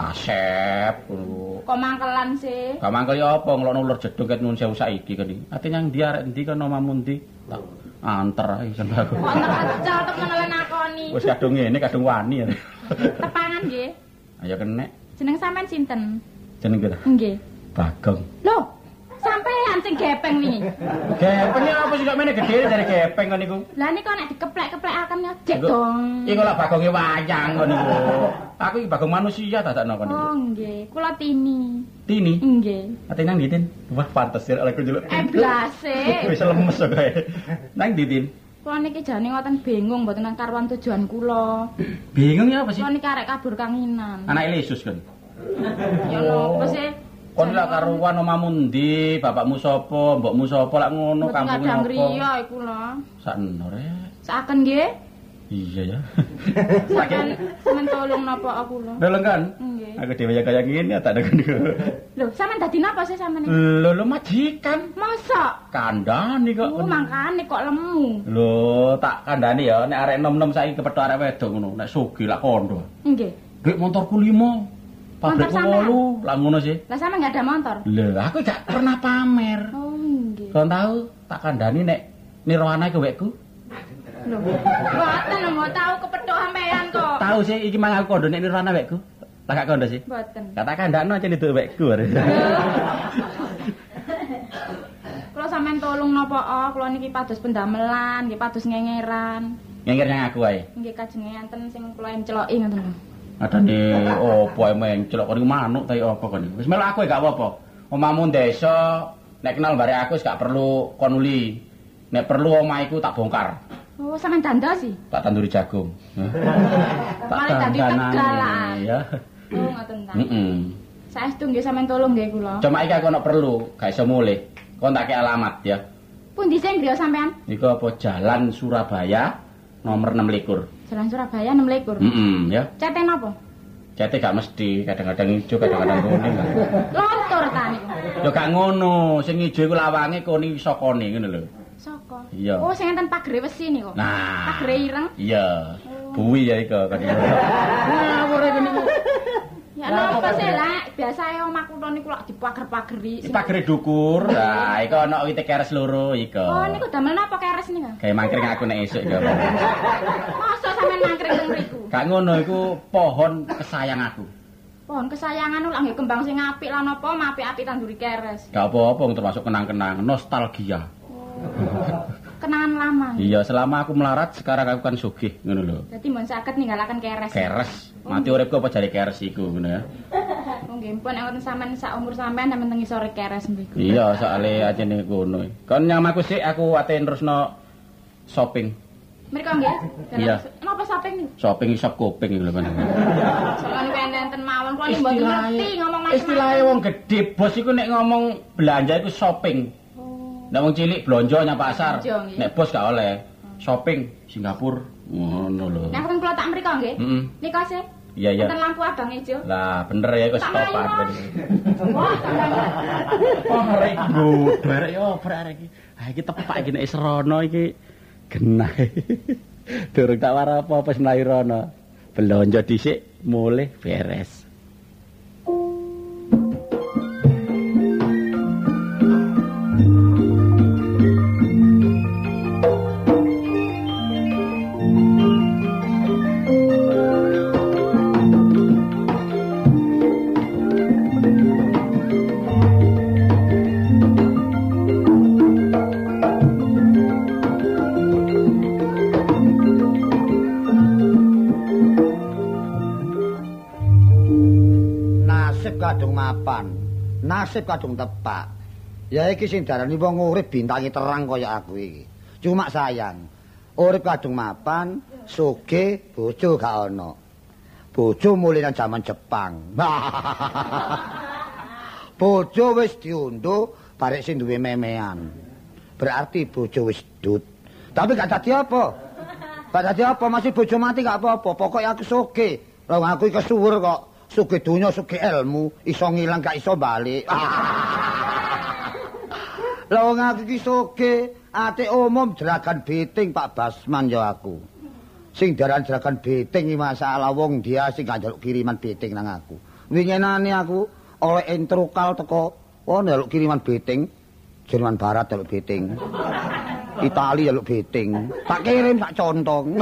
kasep kok mangkelan sih gak mangkel ya apa ngelokno ular jedung ket nyuwun sewu saiki kan iki ate nyang ndi arek ndi kono omamu ndi tak anter ae sampe aku wonten acal temen nakoni wis kadung ngene kadung wani ya tepangan nggih ayo kenek jeneng sampean sinten jeneng kira nggih Bagong lho sampean sing gepeng niki gepeng apa sih kok mene gedhe dari gepeng kon niku lah niku nek dikeplek-keplekaken jek dong iki lak bagonge wayang kon niku aku iki bagong manusia dadakno kon niku oh nggih kula tini tini nggih ate nang ndi Tin wah pantes ya oleh njuluk eh blase wis lemes kok kae nang ndi Tin kula niki jane ngoten bingung mboten nang karuan tujuan kula bingung ya apa sih kula niki arek kabur kanginan anak Yesus kan ya napa sih kon lak karuan omamu ndi bapakmu sapa mbokmu sapa lak ngono kampung kadang apa griya iku lho sakno rek saken nggih iya ya sampean sampean tolong napa aku lho Lho kan? Nggih. Aku dhewe ya kaya ngene tak ada niku. Lho, sampean dadi napa sih sampean? Lho lho majikan. Masa? Kandhani kok. Oh, mangkane kok lemu. Lho, tak kandhani ya nek arek enom-enom saiki kepethuk arek wedok ngono, nek sugih lak kondo. Nggih. Duit motorku lima. Pabrikku wolu, lak ngono sih. Lah sampean enggak ada motor? Lho, aku gak pernah pamer. Oh, nggih. Kon tahu tak kandhani nek nirwana iku wekku. Lho, mboten mau tahu kepethuk sampean kok. Tahu sih iki mang aku kondo nek nirwana wekku. Lah gak kondo sih. Mboten. Kata kandhakno aja nduk wekku. Kula sampean tolong napa oh, kula niki pados pendamelan, nggih pados ngengeran. Ngengir nyang aku ae. Nggih kajeng enten sing kula enceloki ngoten lho. Adane opo ae menclok kon manuk ta apa kon. Wis melok aku gak apa-apa. Omahmu desa Nek kenal bare aku wis gak perlu kon uli. Nek perlu omahku tak bongkar. Oh, sampean dandosi? Tak tanduri jagung. Malah dadi Tegal. Ya. Oh, ngoten ta. Heeh. Saestu nggih sampean tolong nggih kula. Cuma iki aku ono perlu, gak iso mulih. Kon tak kei alamat ya. Pundi sing griya sampean? Niku apa Jalan Surabaya nomor enam likur. Jalan Surabaya enam likur. Heeh, ya. Cete napa? Cete gak mesti, kadang-kadang ijo, kadang-kadang kuning. Lontor ta niku. Ya gak ngono, sing ijo iku lawange kuning sokone ngono lho. Saka. Iya. Oh, sing enten pagere wesi niku. Nah. Pagere ireng. Iya. Buwi ya iku kan. Ngawur iki niku. Ya napa sih lah, biasae omah kula niku lak dipager-pageri. Pagere dukur. Nah, iku ana wite keres loro iku. Oh, niku damel napa keres niku? Kayak mangkring aku nek esuk iki. Masa sampean mangkring teng mriku? Gak ngono iku pohon kesayang aku. Pohon kesayangan lak nggih kembang sing apik lan apa apik-apik tanduri keres. Gak apa-apa termasuk kenang-kenang, nostalgia. Kenangan lama. Iya, selama aku melarat sekarang aku kan sugih ngono lho. Dadi mun saged ninggalaken keres. Keres. Mati uripku apa jare keres iku ngono ya. Oh nggih pun nek wonten sampean sak umur sampean sampean teng isore keres mriku. Iya, soalé ajene ngono. Kon nyamaku sik aku ate terusno shopping. Mriko nggih. Iya. Napa shopping niku? Shopping isop kuping lho kan. Soale enten mawon kula mboten ngerti ngomong macam-macam. Istilahe wong gedhe bos iku nek ngomong belanja iku shopping. Nek wong cilik blonjo nyang pasar. Nek bos gak oleh. Shopping Singapura ngono lho. Nek wong kula tak mriko nggih. Heeh. Nika sih. Iya iya. Enten lampu abang ijo. Lah bener ya iku stopan. Wah, oh arek iki arek yo arek iki. Ha iki tepak iki nek serono iki genah. Durung tak war apa wis mlayu rono. Belanja dhisik mulih beres. Kadung mapan, nasib kadung tepak. Ya iki sing darani wong urip bintangi terang kaya aku iki. Cuma sayang, urip kadung mapan, sugih bojo gak ana. Bojo mulih nang jaman Jepang. Bojo wis diundhuh barek sing duwe memean. Berarti bojo wis dut. Tapi gak dadi apa. Gak dadi apa, masih bojo mati gak apa-apa. Pokoke aku sugih. Lah aku iki kesuwur kok. Sugih donya, sugih ilmu, iso ngilang gak iso balik. Lah wong aku iki sugih, ate umum jeragan beting Pak Basman ya aku. Sing diaran jeragan beting iki masalah wong dia sing gak njaluk kiriman beting nang aku. Winginane aku oleh intrukal teko, oh njaluk kiriman beting, Jerman Barat njaluk beting. Itali njaluk beting. Tak kirim sak contong.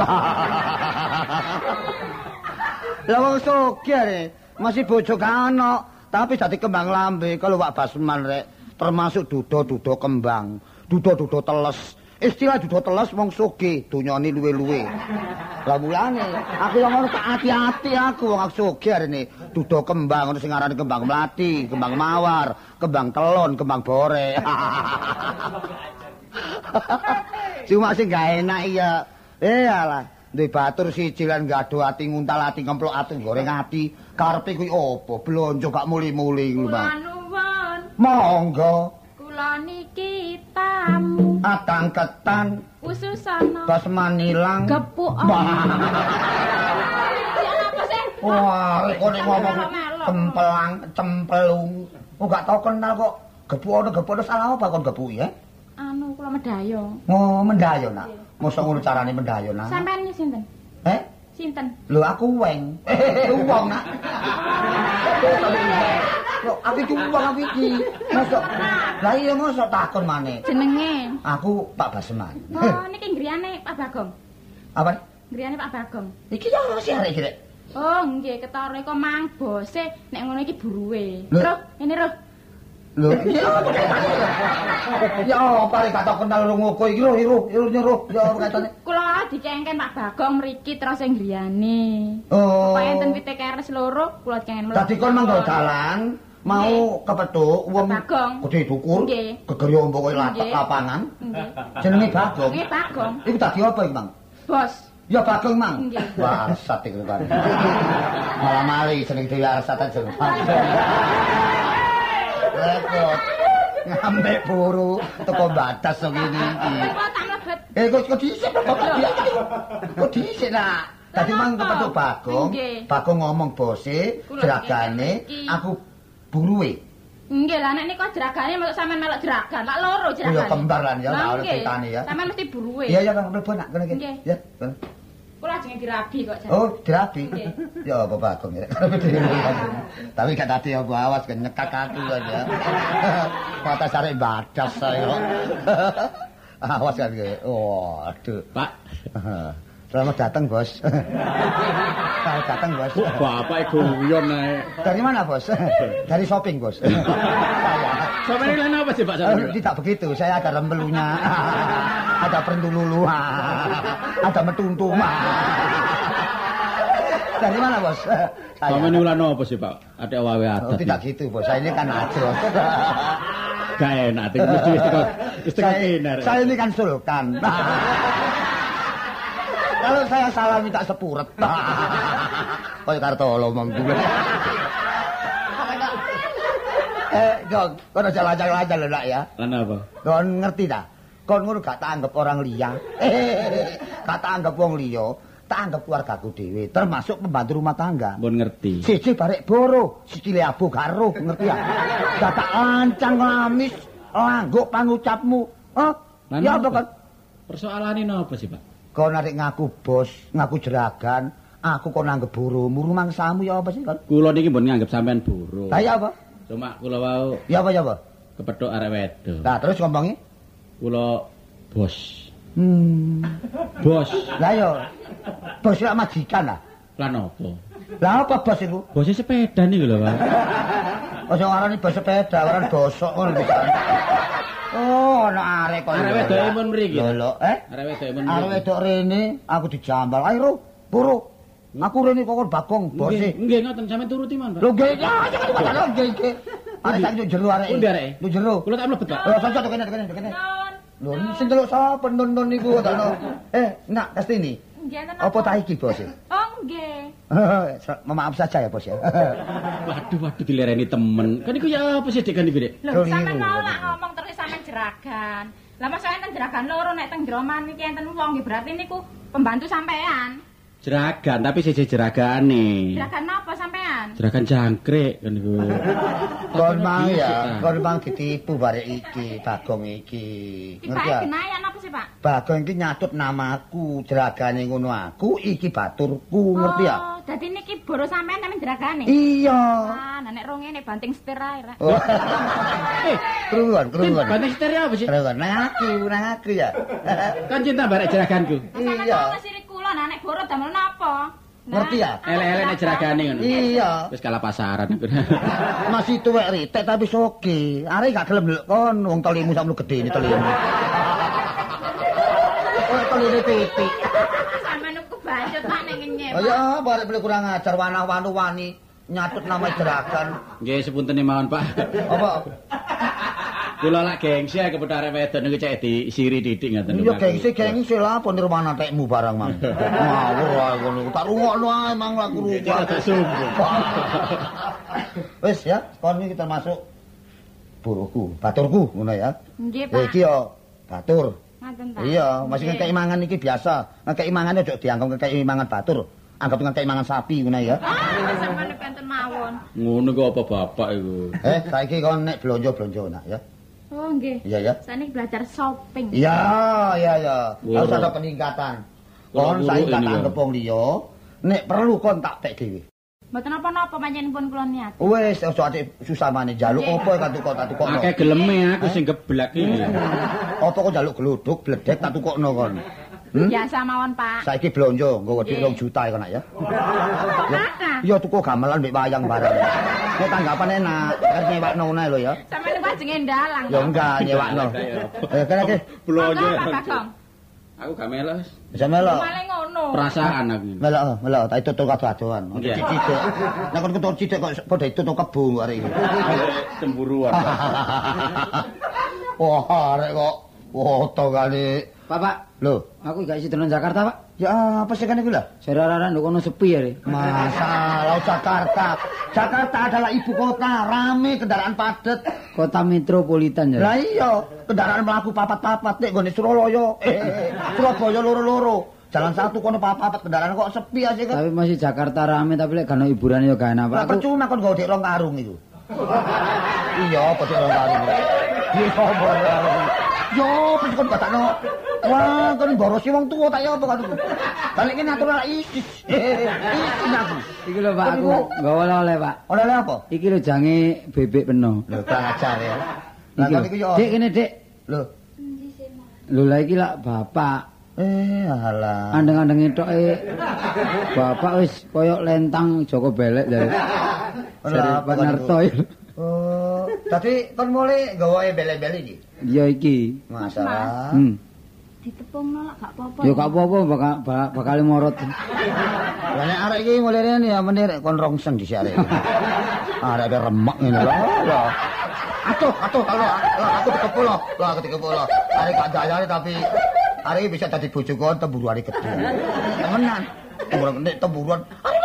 Lah wong sugih masih bojo kana, tapi dadi kembang lambe kalau Pak Basman rek, termasuk duda-duda kembang, duda-duda teles. Istilah duda teles wong sugih, donyane luwe-luwe. Lah mulane aku yang ngono tak ati-ati aku wong aku sugih arene duda kembang ngono sing arane kembang mlati, kembang mawar, kembang telon, kembang bore. Cuma sing gak enak iya. Eh alah. Duwe batur siji lan gaduh ati nguntal ati ngemplok ati goreng ati karepe kuwi apa blonjo gak muli-muli kuwi Bang. Nuwun. Monggo. Kula niki tamu. Atang ketan Ususana. Basman ilang. Gepuk. Wah. Ya apa sih? Wah, kok nek ngomong cempelang, cempelung. Oh gak tau kenal kok. Gepuk ono gepuk ono salah apa kon gepuk ya? Anu kula medayo. Oh, mendayo nak. Mosok ngono carane mendayo nak. Sampeyan iki sinten? Eh? Sinten? Lho aku weng. Wong nak. Lho aku iki wong aku iki. Mosok. Lah iya mosok takon maneh. Jenenge? Aku Pak Basman. Oh, niki griyane Pak Bagong. Apa? Griyane Pak Bagong. Iki ya sih arek iki rek. Oh, nggih ketara kok mang bose nek ngono iki buruwe. Lho. Roh, ini roh. Lho, iya. Ya apa rek gak tau kenal rungoko iki lho, iru, iru nyuruh. Ya apa katane? Kula dikengken Pak Bagong mriki terus sing griyane. Oh. Kaya enten pite keres loro, kula dikengken loro. Dadi kon manggo dalan, mau kepethuk wong Bagong. gedhe dukur. Nggih. Gegeri ombo koyo Nggih. lapangan. Nggih. Jenenge Bagong. Nggih, Bagong. Iku dadi apa iki, Mang? Bos. Ya Bagong, Mang. Nggih. Wah, arsat iku kan. Malah mali jeneng dhewe arsat aja. Repot. Ngambek buru teko batas kok ngene iki. Kok tak mlebet. Eh kok kok dhisik kok kok dhisik nak. Dadi mang kepethuk Bagong. Nggih. Bagong ngomong bose, Kula jeragane, iki. aku buruwe. Nggih lah nek niku jeragane melok sampean melok jeragan, lak loro jeragane. Ya kembar lan ya, Lah, tak ono nggih. critane ya. Sampean mesti buruwe. Iya ya Kang mlebu nak kene iki. Nggih. Ya. kene. Kula ajeng dirabi kok jan. Oh, dirabi. Nggih. Ya apa Bagong ya. Tapi gak tadi aku awas kan nyekak aku kan ya. Mata sare badas saya. Awas kan ge. Waduh. Pak. Selamat datang, Bos. Selamat datang, Bos. Kok bapak guyon ae. Dari mana, Bos? Dari shopping, Bos. Saya. Sampe ini lain apa sih Pak? Eh, tidak begitu, saya ada rembelunya. Ada pendululu. Ada metuntuma. Dari mana, Bos? Saya. Sampe ini ulan apa sih Pak? Ada wawe Oh, adat. tidak gitu, Bos. Saya ini kan ajros. Gak enak, mesti istiqomah istiqomah Saya, kinar. saya ini kan sultan. Kalau saya salah minta sepuret. Kaya Kartolo monggo. Eh, Gong, kon aja lajang-lajang lho nak ya. Lan apa? Kon ngerti ta? Kon ngono gak tak anggap orang liya. Gak tak anggap wong liya, tak anggap keluargaku dhewe, termasuk pembantu rumah tangga. Mbon ngerti. Siji barek boro, sikile abu karo, ngerti ya? Gak tak ancang lamis, langguk pangucapmu. Hah? Lan Ya apa apa? kon? Persoalane napa sih Pak? Kau narik ngaku bos, ngaku jeragan, aku kau nanggep burumu, rumang samu ya apa sih kan? Kula niki mbon nganggep sampean buruh. Lah ya apa? Cuma kula wau Ya apa ya apa? kepethuk arek wedok. Nah terus ngomongnya? Kula bos. Hmm. Bos. Lah ya, bos ya majikan lah. Lan apa? Lah apa bos itu? Bosnya sepeda niku lho Pak. Ojo ngarani bos sepeda, ngarani bosok ngono bisa. Oh, ana arek kok. Arek wedoke mun mriki. Lho lho, eh? Arek wedoke mun Arek mriki. wedok rene, aku dijambal. Ayo, Ro, buru. Aku rene kok Bagong, bos Nggih, e. nggih ngoten sampean turuti mon Pak. Lho nggih, ya jangan kok nggih nggih. Arek tak njuk jero arek. Pundi areke? Njuk jero. Kula tak mlebet Pak. Oh, sosok kene kene kene. Nun. Lho, sing delok sapa nun-nun niku ta no. Eh, nak Kastini. Nggih enten Apa tak iki, Bos? Oh, nggih. Maaf saja ya, Bos ya. Waduh, waduh dilereni temen. Kan iku ya apa sih Dik kan iku Dik? Lho, Keliru. sampean mau lak ngomong terus sampean jeragan. Lah masa enten jeragan loro nek teng Droman iki enten wong nggih berarti niku pembantu sampean. Jeragan, tapi siji jeragane. Jeragan napa sampean? Jeragan jangkrik kan iku. Kon mang Dhisik, ya, ta. kon mang ditipu barek iki, Bagong iki. Iki Ngerti Pak ya? Genayan apa sih, Pak? Bagong iki nyatut namaku, jeragane ngono aku, iki baturku, ngerti ya? Oh, dadi niki boro sampean namanya jeragane. Iya. Ah, nah nek rong ngene banting setir ae rek. Oh. Eh, Keruan, Din, keruan. bandeng stereo apa sih? Keruan, nang aku, nang aku ya. Kan cinta barek jeraganku. Sampeyan Iya. mau ngasih kula nah nek boro damel napa? Nah, Ngerti ya? Elek-elek nek jeragane ngono. Iya. Wis kalah pasaran aku. Masih tuwek ritek tapi soge. Arek gak gelem ndelok kon wong telimu sakmono gedene telimu. Oh, teline pitik. sampeyan niku bacot Pak ning ngenyek. Oh ya, barek beli kurang ajar wanah-wanu wani nyatut nama jeragan. Nggih sepunten mawon Pak. Apa? Kula lak gengsi ae kepethuk arek wedok niku cek disiri titik ngoten. Iya gengsi gengsi lah apa nirwana tekmu barang mang. Ngawur wae ngono. Tak rungokno ae mang laku rungok. Tak sumbung. Wis ya, kon iki termasuk buruku, baturku ngono ya. Nggih, Ya Pak. iki yo batur. Ngaten ta. Iya, masih Nggih. ngekeki mangan iki biasa. Ngekeki mangan aja dianggap ngekeki mangan batur. Anggap ngekeki mangan sapi ngono ya. Ah, sampeyan penten mawon. Ngono kok apa bapak iku. Eh, saiki kon nek blonjo-blonjo nak ya. Oh, nggih. Iya ya. Saniki belajar shopping. Iya, iya ya. Woro. Harus ada peningkatan. Woro Kon saiki ini tak ya. anggap wong liya, nek perlu kon tak tek dhewe. Mboten apa-apa panjenengan kula niat. Wis aja ati susah maneh njaluk Nggih. apa tak tukok tak tukokno. Akeh geleme aku sing geblek iki. Apa kok njaluk gluduk bledek tak tukokno kon. Hmm? Biasa mawon, Pak. Saiki blonjo nggo wedhus Nggih. rong juta ya kon nak ya. Berapa? Iya tuku gamelan mbek wayang bareng. Nek tanggapane enak, kan nyewakno ngono lho ya. Sampeyan niku ajenge ndalang. Ya enggak nyewakno. Eh kene iki Blonjo. Monggo, Pak Bagong. Aku gak melok. bisa melo. Malah ngono. ngono. Perasaan aku. Melok, melok, tak tutuk kado-kadoan. Cicik. Nek kon ketok cicik kok padha tutuk kebo arek iki. Cemburuan. Wah, arek kok foto kali. Bapak, Lho, aku gak isi dolan Jakarta, Pak. ya apa sih kan iku lah? Saudara-saudara nduk kono sepi ya, Re. Masalah Jakarta. Jakarta adalah ibu kota, rame kendaraan padat. Kota metropolitan ya. Lah iya, kendaraan mlaku papat-papat nek nggone Surabaya. Eh, Surabaya loro-loro. Jalan satu kono papat kendaraan kok sepi aja kan. Tapi masih Jakarta rame tapi lek gak ono hiburan ya gak enak, Pak. Lah Aku percuma kon nggo dik rong karung iku. Iya, kok dik rong karung. Iya, kok yo, wis kon batakno. Wah, kon borosi wong tuwa tak ya apa kan. Balik kene atur lak isis. Isin aku. iki lho Pak, aku gak oleh-oleh, Pak. Oleh-oleh apa? Iki lho jange bebek peno. Lho, kurang ajar ya. Lah Iki kon lho. iku yo. Dik kene, Dik. Lho. Lho lah iki lak bapak. Eh, alah. Andeng-andeng etoke bapak wis koyok lentang Joko Belek dari. Lah, Pak Narto. Oh, tadi kon mulai gawe bele-bele iki. Iya iki. Masalah. Hmm. Ditepungno lak gak apa-apa. Ya gak apa-apa bakal bakal morot. Lah nek arek iki mulai rene ya menir kon rongsen di arek. Arek ada remek ngene lho. Lho. Atuh, atuh kalau aku dikepul lho. Lah aku dikepul lho. Arek gak dayane tapi arek bisa dadi bojo kon temburu arek gedhe. Temenan. Temburu nek temburuan.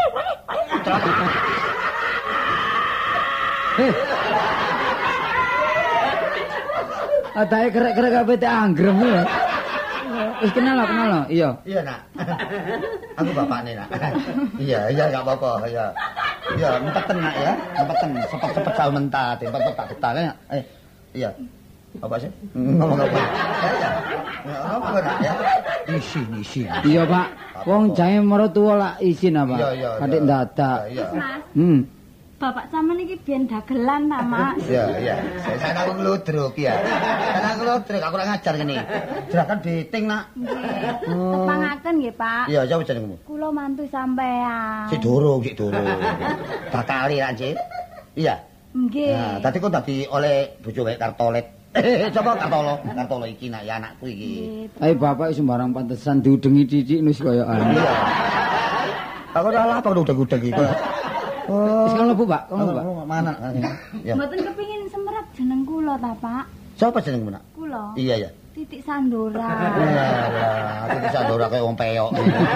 Adae kerek-kerek kabeh tak anggrem lho. Wis kenal lah, kenal lah. Iya. Iya, Nak. Aku bapakne, Nak. Iya, iya enggak apa-apa, iya. Iya, empeten Nak ya. Empeten, sepet-sepet sal mentat, empet tak getane. Eh, iya. Apa sih? Ngomong apa? Ya, ya. Apa Nak ya? Isin, isin. Iya, Pak. Wong jange mertua lak isin apa? Iya, iya. Kadek ndadak. Iya. Mas, Hmm. bapak sampean iki biyen dagelan ta, Mas? Iya, iya. Saya aku ngludruk ya. Saya aku ngludruk, aku ora ngajar kene. Gerakan beting, Nak. Nggih. Tepangaken nggih, Pak. Iya, sapa jenengmu? Kula mantu sampean. Si Durung, si Durung. Bakali ra, Cik. Iya. Nggih. Nah, tadi kok tadi oleh bojo wae Kartolet. Eh, coba Kartolo, Kartolo iki nak ya anakku iki. Ayo bapak sembarang pantesan diudengi titik nus koyo anu. Iya. Aku ora lah kok udeg-udeg iki. Oh, Wis kalau Bu, Pak, kalau Pak. Mana? Ya. Mboten kepengin semerap jeneng kula ta, Pak? Siapa jenengmu, Nak? Kula. Iya, ya. Titik Sandora. Yalah, aku bisa ndora kaya wong peyok.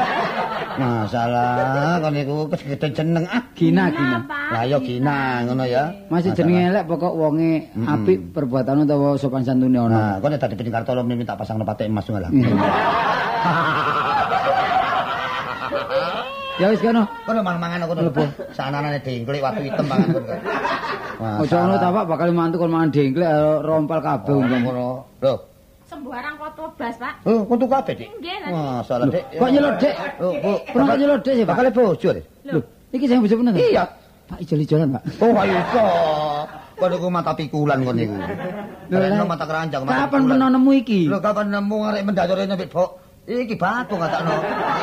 Masalah kon niku kesegede jeneng ah. Gina, Gina. Lah ya Gina ngono ya. Masih jenenge elek pokok wonge apik perbuatan utawa sopan santune ono. Nah, kon nek dadi bening Kartolo minta pasang patek emas ngono lah. Ya wis kono. Kono mangan-mangan kono lho, sananane dengklik watu hitam mangan kono. Ojo ngono ta, Pak, bakal mantu kon mangan dengklek rompal kabeh umpam ngono. Lho, Sembarang foto blas, Pak. oh, kudu kabeh, Dik. Nggih, Wah, salah, Dik. Kok nyelot, Dik? Oh, Bu, Pernah nyelot, Dik sih, Pak. bakal bojo, Dik. Lho, iki sing bojo bener. Iya. Pak ijol-ijolan, Pak. Oh, ayo iso. Kon niku mata pikulan kon niku. Lho, mata keranjang, mata. Kapan pernah nemu iki? Lho, kapan nemu arek mendayore nyebit bok. Iki batu ngatakno.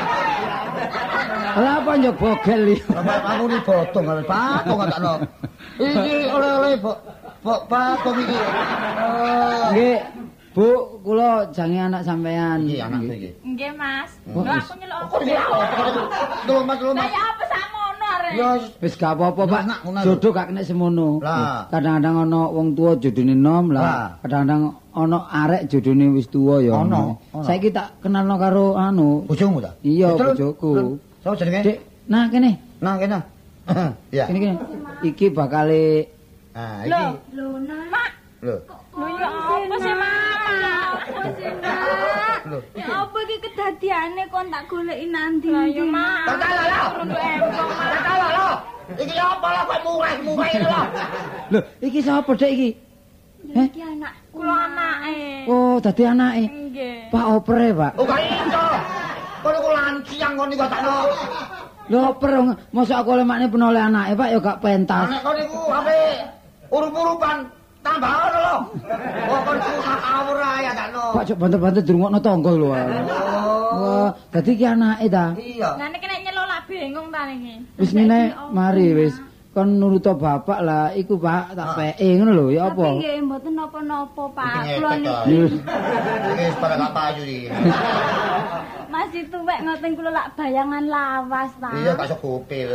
Lah apa njok bogel iki? Bapak aku ni bodong arek batu ngatakno. Iki oleh-oleh bok. Bok batu iki. Oh. Nggih. Bu, kula jange anak sampean. Iki anakku iki. Nggih, Mas. Oh, Lho wis. aku nyelok Kok dia? Lho, Mas, lho, Lah Mas. ya apa sakmono arek? Ya, Wis gak apa-apa, Pak. Nak, ngono. Jodoh gak kena semono. Lah. Kadang-kadang ana wong tuwa jodone nom Lah. lah. Kadang-kadang ana arek jodone wis tuwa ya. Ono, ono. Saiki tak kenalno karo anu. bojomu ta? Iya, Terus, bojoku. terus, Sapa jenenge? Dik, nah kene. Nah, kene. Iya. Kene kene. Iki bakale Nah, Lho, iki. Lho, Nak. Mak. Lho. Lho ya apa sih, Mama? Apa sih, Nak? Lho. Ya apa iki kedadiane kon tak goleki nanti. Lah ya, Mak. Perkara lho. Untuk embong, Mak. Perkara lho. Iki apa lah kok murah-murah ini lho. Lho, iki sapa Dik iki? Lho, iki anak Kula anake. Oh, dadi anake. Nggih. Pak opere, Pak. Oh, gak iso. Kon niku lanciang kon niku takno. Lho oper mosok aku oleh makne penoleh anake, Pak ya gak pentas. Anak kon niku ape urup-urupan tambah ono lho. Oh, kon niku ngawur ae ya takno. Pak cok banter-banter dirungokno tangga lho. Wah, dadi iki anake ta. Iya. Lah nek nek nyelok lak bingung ta niki. Wis ngene mari wis. kon nuruta bapak lah iku Pak tak peke ngono lho ya apa? Tapi nggih mboten napa-napa Pak. Kula Ngepet niki ae. Wis pada gak payu iki. masih tuwek ngoten kula lak bayangan lawas Pak. Iya gak iso gopil.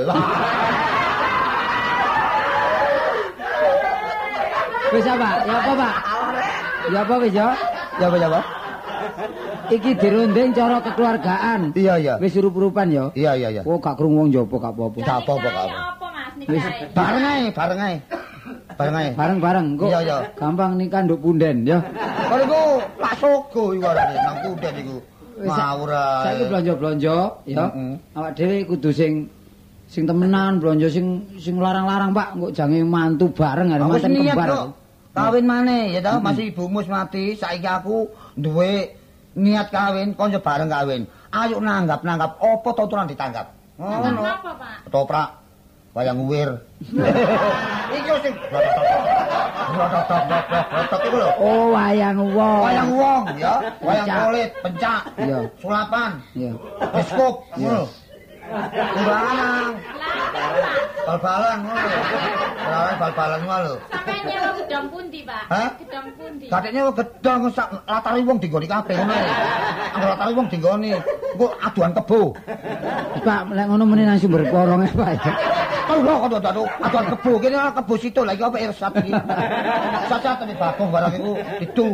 Wis apa? Ya apa Pak? Ya apa wis ya? Ya apa ya apa? Iki dirunding cara kekeluargaan. Iya iya. Wis surup-urupan ya. Iya iya iya. Oh gak krungu wong njaba gak apa-apa. Gak apa-apa gak apa. Apa Mas Wis nikahe? Bareng ae, bareng ae. Bareng ae. bareng-bareng kok. Iya, iya. Gampang nikah nduk punden ya. Kok iku Pak Sogo iku arane nang kudet iku. Wis, sa- Ngawur ae. Saiki blonjo-blonjo ya. Heeh. Awak dhewe kudu sing sing temenan blonjo sing sing larang-larang Pak, kok jange mantu bareng arep Aku manten niat kembar. kok kawin maneh ya ta, masih ibumu wis mati, saiki aku duwe niat kawin, konco bareng kawin. Ayo nanggap-nanggap apa to aturan ditanggap. Ngono. Apa Pak? Ketoprak wayang uwir. Iki sing iku lho. Oh, wayang wong. Wayang wong ya, wayang Pencak. kulit, pencak, Iya. sulapan, Iya. biskop, ngono. Kumbangan. Bal-balan ngono. Bal-balan bal-balan ngono lho. Sampai nyewa gedang pundi, Pak? Hah? Gedang pundi? Katanya gedang sak latari wong dinggoni kabeh ngono. Anggo latari wong dinggoni, engko aduan kebo. Pak, lek ngono meneh nang sumber porong Pak. ya. Kalau kok aduh aduan kebo kene kebo situ lagi apa irsat iki. Saca tene bagong barang iku itu.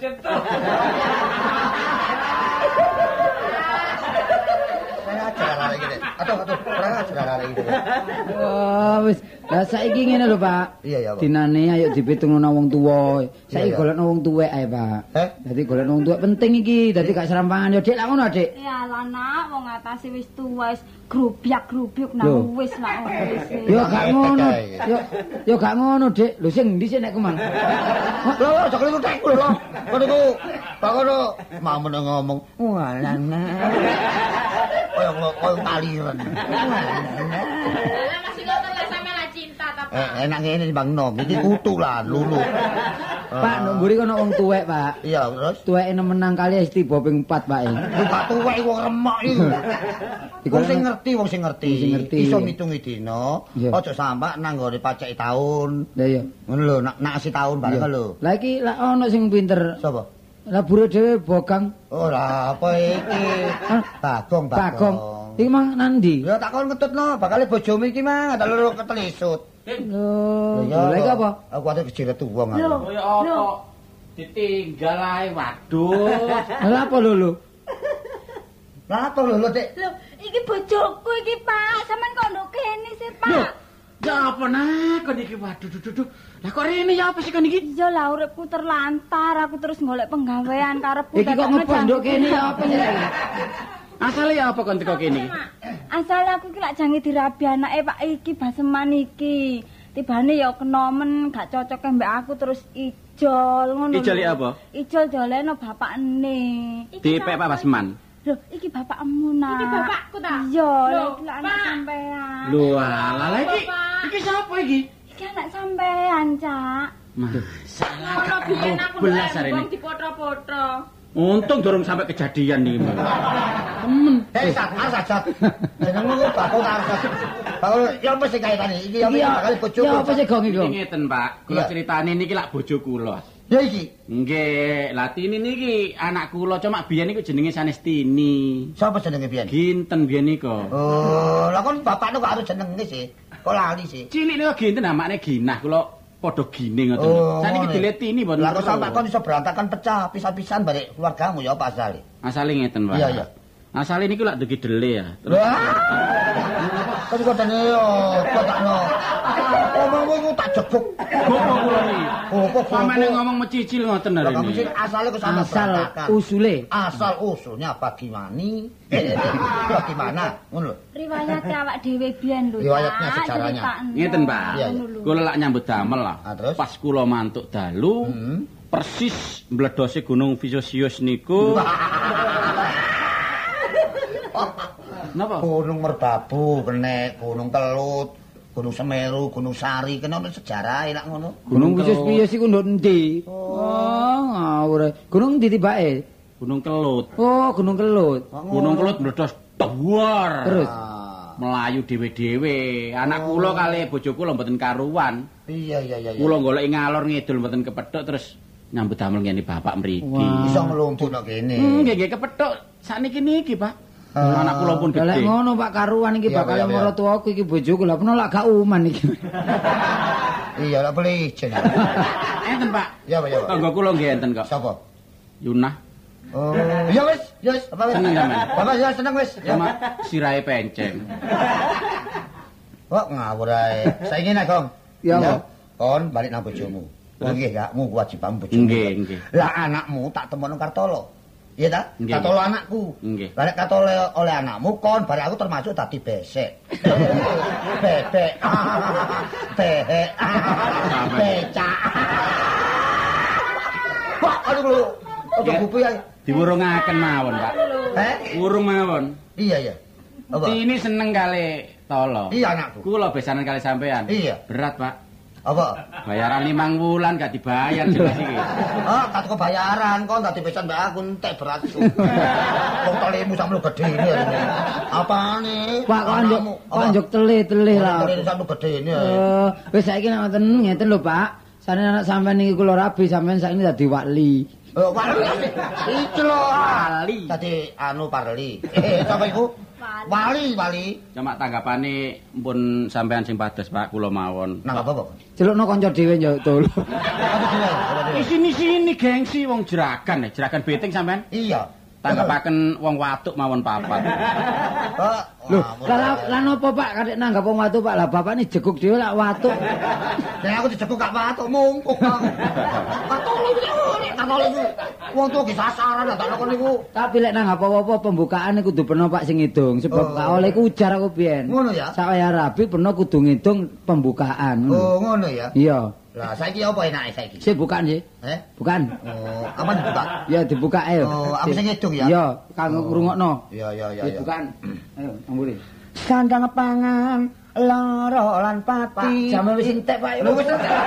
Saya ajar iki. Aduh aduh, ora ajar iki. Oh, wis. Lah saiki ngene lho, Pak. Iya ya, Pak. Dinane ayo dipitungno wong tuwa. Saiki Iya, iya. golekno wong tuwek ae, Pak. Eh? Dadi golekno wong tuwek penting iki. Dadi gak serampangan ya, Dik. Lah ngono, Dik. Ya lah nak, wong atase wis tuwa wis grubyak-grubyuk Loh. nang wis lah wis. Yo gak ngono. Ngepet ae. Yo yo gak ngono, Dik. Lho sing ndi sih nek kemang? Lho, lho, jek lu tek lho. Kok niku Pak kono mau meneng ngomong. Walana. Koyo koyo kaliren. Lah masih ngoten lah sampe lah cinta ta, Pak. Eh, enak ngene Bang Nom, iki kutu lah, lulu. Pak, nang mburi kono wong tuwek, Pak. Iya, terus Tuweke nemenang kali wis tiba ping empat, Pak. e. lu gak tuwek wong remek iku. Wong sing ngerti, wong sing ngerti. Wong sing ngerti. Iso ngitungi dina, Iya. aja sampak nang nggone paceki taun. Lah iya. Ngono lho, nak nasi taun bareng Iya. lho. Lah iki lah ono sing pinter. Sapa? Lah bure dhewe bogang. Oh, lah apa iki? Hah? Bagong, Bagong. Iki mang nandi? Ya tak kon ketutno, bakal bojomu iki mang tak loro ketelisut. Lho, Ya, lha iki apa? Aku ate kejiret wong aku. Lho, Kaya apa? Ditinggal ae waduh. Lah apa lho lho? Lah apa lho, lho, Dik? lho, iki bojoku iki Pak, sampean kok nduk kene sih Pak. Ya apa nak kon iki waduh duh duh duh. Lah kok rene ya apa sih kon iki? Iya lah uripku terlantar, aku terus golek penggawean karepku. Iki kok ngebon nduk kene ya apa sih? Asale ya apa kon teko kene iki? Asal aku ki lak jange dirabi anake Pak iki baseman iki. Tibane ya kena men gak cocok mbek aku terus ijol ngono. Ijol lho. apa? Ijol doleno bapakne. Dipek Pak Basman. Lho, iki bapakmu nak. Iki bapakku ta? Iya, Lho, lha iki lak anak Pak. sampean. Lho alah lah iki. Pak. Iki sapa iki? Iki anak sampean, Cak. Masalah Ngono biyen aku belas ndek hari wong ini. dipoto-poto. Untung durung sampai kejadian nih. Temen. Eh, sak, sajat. Jenengmu kok bakal ta sajat. Bakal ya apa sih kaitane? Iki ya Iki ya bakal bojoku. ya apa sih gong iki? Iki Gong? ngeten, Pak. Kula Iya. critane niki lak bojo kula. Ya iki. Nggih, Latini niki anak kula cuma biyen niku jenenge Sanestini. Sapa jenenge biyen? Ginten biyen niku. Oh, lah kon bapakno kok harus jenenge sih. Kok lali sih? Cilik niku Ginten amakne Ginah kula padha gine ngoten. Oh, Saniki ngono. diletini mboten. Lah kok perlu. sampak kon iso berantakan pecah pisah-pisahan balik keluargamu ya apa asale? Asale ngeten, Pak. Iya, iya. Asale niku lak dugi dele ya. Terus Wah. Kan kok dene yo kotakno. Omongmu iku tak jebuk. gopo kula niki. Oh, kok Sampeyan ngomong mecicil ngoten Lah hari kamu sih ini. asale kok sampe Asal berantakan. usule. Asal usulnya bagaimana? Bagaimana? Ngono lho. Riwayat awak dhewe biyen lho. Riwayatnya, Cak, sejarahnya. critakno. Ngeten, Pak. Iya, iya. Ngono lho. Kula lak nyambut damel lah. Ah, terus? Pas kula mantuk dalu, Hmm. persis mbledose Gunung Vesuvius niku. Napa? Gunung Merbabu, kene Gunung Kelut, Gunung Semeru, Gunung Sari, kene ono sejarah enak ngono. Gunung Wisus piye sih ku nduk endi? Oh, ngawur. Gunung ndi tibake? Gunung Kelut. Oh, Gunung Kelut. Gunung Kelut meledos duar. Terus Ah. melayu dhewe-dhewe. Anak kula kali bojo kula mboten karuan. Iya iya iya. Kula goleki ngalor ngidul mboten kepethuk terus nyambut damel ngene bapak mriki. Iso ngelumpukno kene. Hmm, nggih nggih kepethuk sakniki niki, Pak. Anak kula pun Lek gedhe. ngono Pak karuan iki Iya, bakal iya, iya. maratuaku iki bojoku lha peno lak gak uman iki. Iya lak boleh ijen. Enten, Pak. Iya, Pak, iya, Pak. Tangga kula nggih enten kok. Sapa? Yunah Oh, ya wis, ya wis, apa wis? Seneng, sampean? Bapak ya seneng wis. Ya. sama sirahe penceng. Kok ngawur ae. Saiki nek, Gong. Ya, apa? Kon balik nang bojomu. Oh nggih, kakmu kewajiban bojomu. Nggih, nggih. Lah anakmu tak temono Kartolo. Iya ta? Nggih, Kartolo nggih. anakku. Nggih. Lah nek Kartolo oleh anakmu kon bare aku termasuk dadi besek. Bebek. Behek. Becak. Wah, aduh lu. Ojo Ya. bubu ae. Diwurungaken mawon, Pak. Eh? Wurung mawon. Iya ya. Apa? Ini seneng kali tolo. Iya anakku. Kula besanan kali sampean. Iya. Berat, Pak. Apa? Bayaran limang wulan gak dibayar jelas iki. Ah, tak kebayaran kon dadi pesan mbak aku entek berat. Wong tolemu sampe gede ini. Apane? Pak kok anjuk kok anjuk telih-telih lah. Tolemu sampe gede ini. Eh, wis saiki nek ngoten ngeten lho, Pak. Sane anak sampean iki kula rabi sampean saiki dadi wali. Oh, wali. Iki lho. Wali. Dadi anu parli. Eh, sapa iku? Wali, wali. Cuma tanggapane pun sampean sing pados, Pak, kula mawon. Nang apa, Pak? Celukno kanca dhewe yo tol. Apa dhewe? Apa dhewe? Sini-sini gengsi wong jeragan, ya, jeragan beting sampean. Iya. Tanggapaken wong watuk mawon papat. Pak, Lho, lah lah napa Pak kadek nanggap wong watu Pak? Lah bapak ini jeguk dhewe lak watuk. nek aku dijekuk gak watuk mungkuk, Kang. Katolo iki, katolo iki. Wong tuwa ki sasaran tak kon niku. Tapi lek nang apa-apa pembukaan kudu peno Pak sing ngidung sebab Oh. gak oleh ku ujar aku biyen. Ngono ya? Sak wayah rabi peno kudu ngidung pembukaan. ngono. Oh, ngono ya. Iya. Lah saiki apa enake saiki? Sik bukan sih. Eh? Bukan. Oh, apa dibuka? Ya dibuka ayo. Oh, aku sing ngidung ya? Iya, kanggo ngrungokno. Iya, iya, iya, iya. Dibukaan. Ayo, amburi. Kandang pangan loro lan Pak, pati. jame wis entek Pak. Lho wis entek.